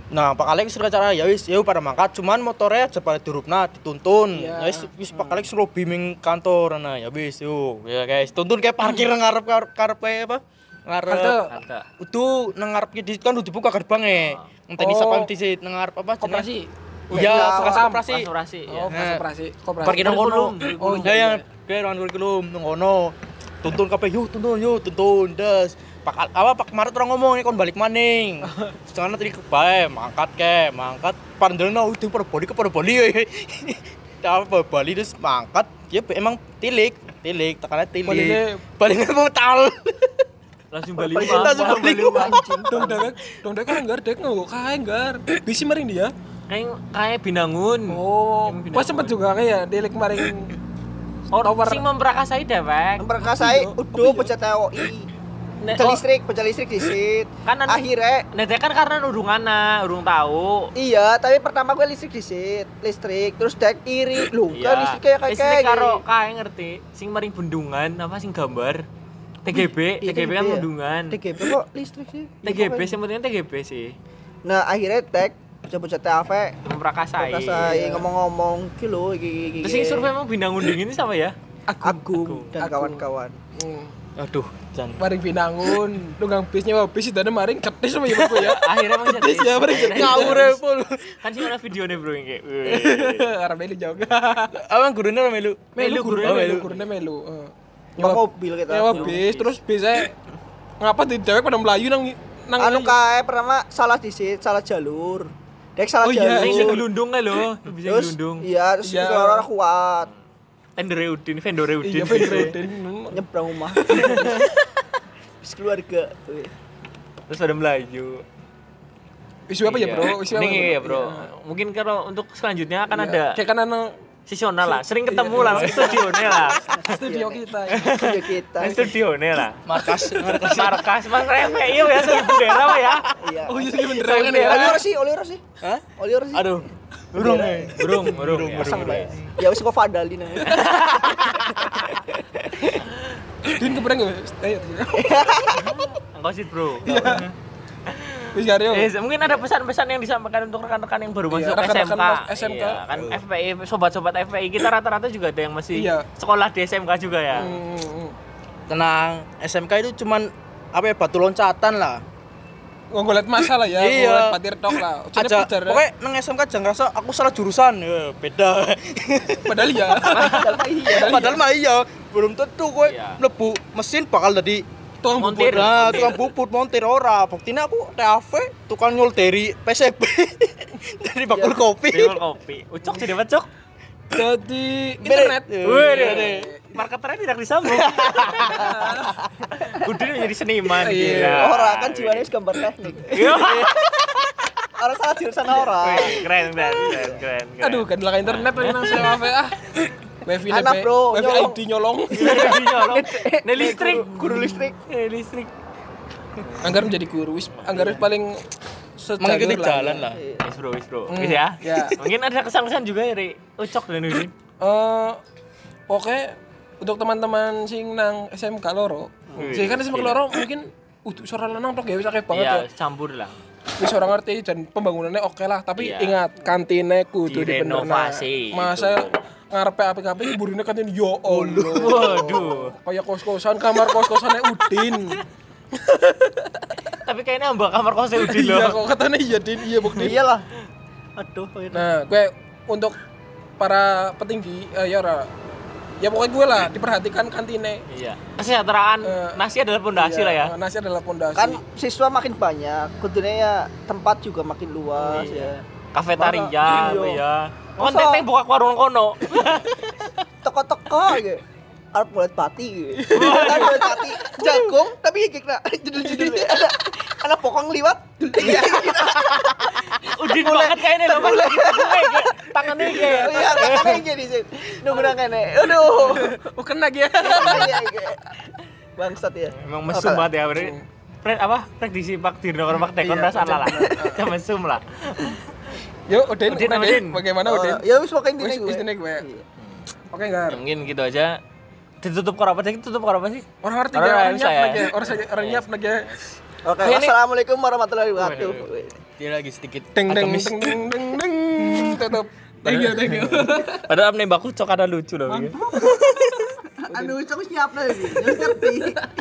Nah, Pak Alex suruh acara ya wis, pada mangkat, cuman motornya aja pada durupna dituntun. Iya. Ya wis Pak Alex suruh bimbing kantor nah ya wis yuk. Ya guys, tuntun kayak parkir ngarep kayak apa? Ngarep. Halte. Itu nang ngarep di kan udah dibuka gerbangnya. Ngenteni sapa disit nang ngarep apa? Koperasi. Iya, koperasi. Koperasi. Oh, Ya. koperasi. Parkir nang kono. Oh, Ya ya, kayak ruang kurikulum nang kono. Tuntun kabeh yuk, tuntun das. Pak Maret orang ngomong ini kon balik maning. Jangan nanti bae mangkat pandelno udah pada Bali. Apa Bali terus mangkat dia emang tilik tekannya tilik. Baliknya metal. Langsung balik Langsung balik anjing. Dong dek kan enggak dek nggak kae enggak. Bisi maring dia. Kayak Binangun. Oh, Yang pas sempet juga kayak delik maring Sing memperakasai dewek. Memperkasai udah pecat TOI. Pecah listrik disit. Kan Akhirnya kan karena urung tahu. iya, tapi pertama gue listrik terus dek iri. Loh, kan listrik kayak listrik karo kae ngerti. Sing maring bendungan apa sing gambar TGB kan ya. bendungan. TGB kok listrik sih? TGB sebetulnya TGB sih. Nah, akhirnya dek bocah-bocah TAV Memperakasai. ngomong-ngomong iki lho iki. Terus sing survei emang Binangun dingin ini siapa ya? Agung dan kawan-kawan. Aduh, jan. Maring Binangun, tunggang bisnya bis itu maring cetis sama ibu ya. Akhirnya emang jadi. Ya, maring Ngawur pul. Kan sih ada videonya bro yang kayak. Arah melu jauh. Abang gurunya melu. Gurunya melu. Nyewa mobil kita. Nyewa bis, terus bisnya ngapa di dewek pada melayu nang Anu kae pertama salah disit, salah jalur. Dek salah Oh iya, Sing jalur. gelundung kan lo, bisa Terus gelundung. iya, terus Iya. orang kuat Vendor Udin. Iya, Fedrodin. nyebrang rumah. Bis keluarga. Terus pada Melayu. Isu apa ya, Bro? Isu apa? Ini ya, Bro. Mungkin kalau untuk selanjutnya akan ada Kayak kan anu sesional lah, sering ketemu lah, studionya lah. studio kita. Studio kita. Studionya lah. Markas. Markas Mas Refe iya ya sering bendera Pak ya. Iya. Oh iya, beneran kan ya. Oliver sih. Hah? Oliver sih. Aduh. Burung. Pasang bae. Ya wis kok vandalin. Din kebereng ya? Ayo. Engkau sih, Bro. Wis Garyo. Mungkin ada pesan-pesan yang disampaikan untuk rekan-rekan yang baru masuk rekan-rekan SMK. SMK. Iya, kan FPI, sobat-sobat FPI kita rata-rata juga ada yang masih Iya. sekolah di SMK juga ya. Tenang, SMK itu cuman apa ya batu loncatan lah. Nggolet masalah ya, Iya. nggolet patir tok lah. Jadi Aja, pokoknya nang SMK jangan ngerasa aku salah jurusan, ya, beda. padahal ya. Padahal mah iya, belum tentu kowe Iya. mlebu mesin bakal jadi Tukang Montir. bubur. nah, tukang bubut montir ora. Buktine aku TAV tukang nyul dari PCB. Dari bakul kopi. Tebel kopi. Ucok jadi apa, Cok? Jadi internet. Wih, marketernya tidak disambung. Udin menjadi seniman. Iya. gila. Orang kan jiwanya wis gambar teknik. Iya. Orang salah jurusan orang. Wih, keren. Aduh, kan belakang internet lagi nang sewa ah. Wifi Anak, bro, Wifi nyolong. ID nyolong. Nih listrik. Guru listrik. Listrik. Anggar menjadi guru, anggar paling Mengikuti sejalur jalan lah. Wis bro. Wis ya. Ya. Mungkin ada kesan-kesan juga dari Ucok dan Udin. Oke, untuk teman-teman sing nang SMK loro. Sing kan SMK loro mungkin suara lanang tok ya wis akeh banget ya. Iya, campur lah. Wis ora ngerti dan pembangunannya oke lah, tapi Iya. ingat kantine kudu dibenerna. Direnovasi, Masa ngarepe apik-apik burine kantine yo Allah. Waduh. Kayak kos-kosan, kamar kos-kosannya Udin. Tapi kayaknya mbak kamar kosnya Udin loh. Iya kok katanya iya Din, iya bukti. Iyalah. Aduh. Nah, gue untuk para petinggi ya ora. Ya pokoknya gue lah diperhatikan kantine. Iya. Kesejahteraan nasi adalah pondasi Iya, lah ya. Nasi adalah pondasi. Kan siswa makin banyak, kudune ya tempat juga makin luas ya. Kafetaria, Iya. apa ya. Kan Masa- teteh buka warung kono. Teko-teko gitu. Arep bulat pati gitu. Kan bulat pati jagung tapi gigik nak judul-judulnya. Ada pokong liwat. Iya. Udin banget kayaknya loh pas lagi kayak tangannya kayak. Iya, tangannya jadi sih. Nunggu nang kene. Aduh. bukan lagi ya. Iya, iya. Bangsat ya. Emang mesum banget ya berarti. Prediksi Pak Dirno kalau Pak Tekon Iya, salah lah. Jangan mesum lah. Yuk, Udin, Udin. bagaimana Udin? Ya wis pokoknya Wis intinya gue. intinya gue. Iya. Oke, Gar. Mungkin gitu aja. Ditutup karo apa sih? Tutup karo apa sih? Orang ngerti Orang gak? Orang bisa nyiap ya. lagi. Orang nyiap lagi. Oke, Ini- assalamualaikum warahmatullahi wabarakatuh. Dia lagi sedikit Deng deng agamis. deng deng deng deng. Tutup. Thank you. Padahal nembak cok ada lucu loh. Anu cok siap lagi. Ngerti.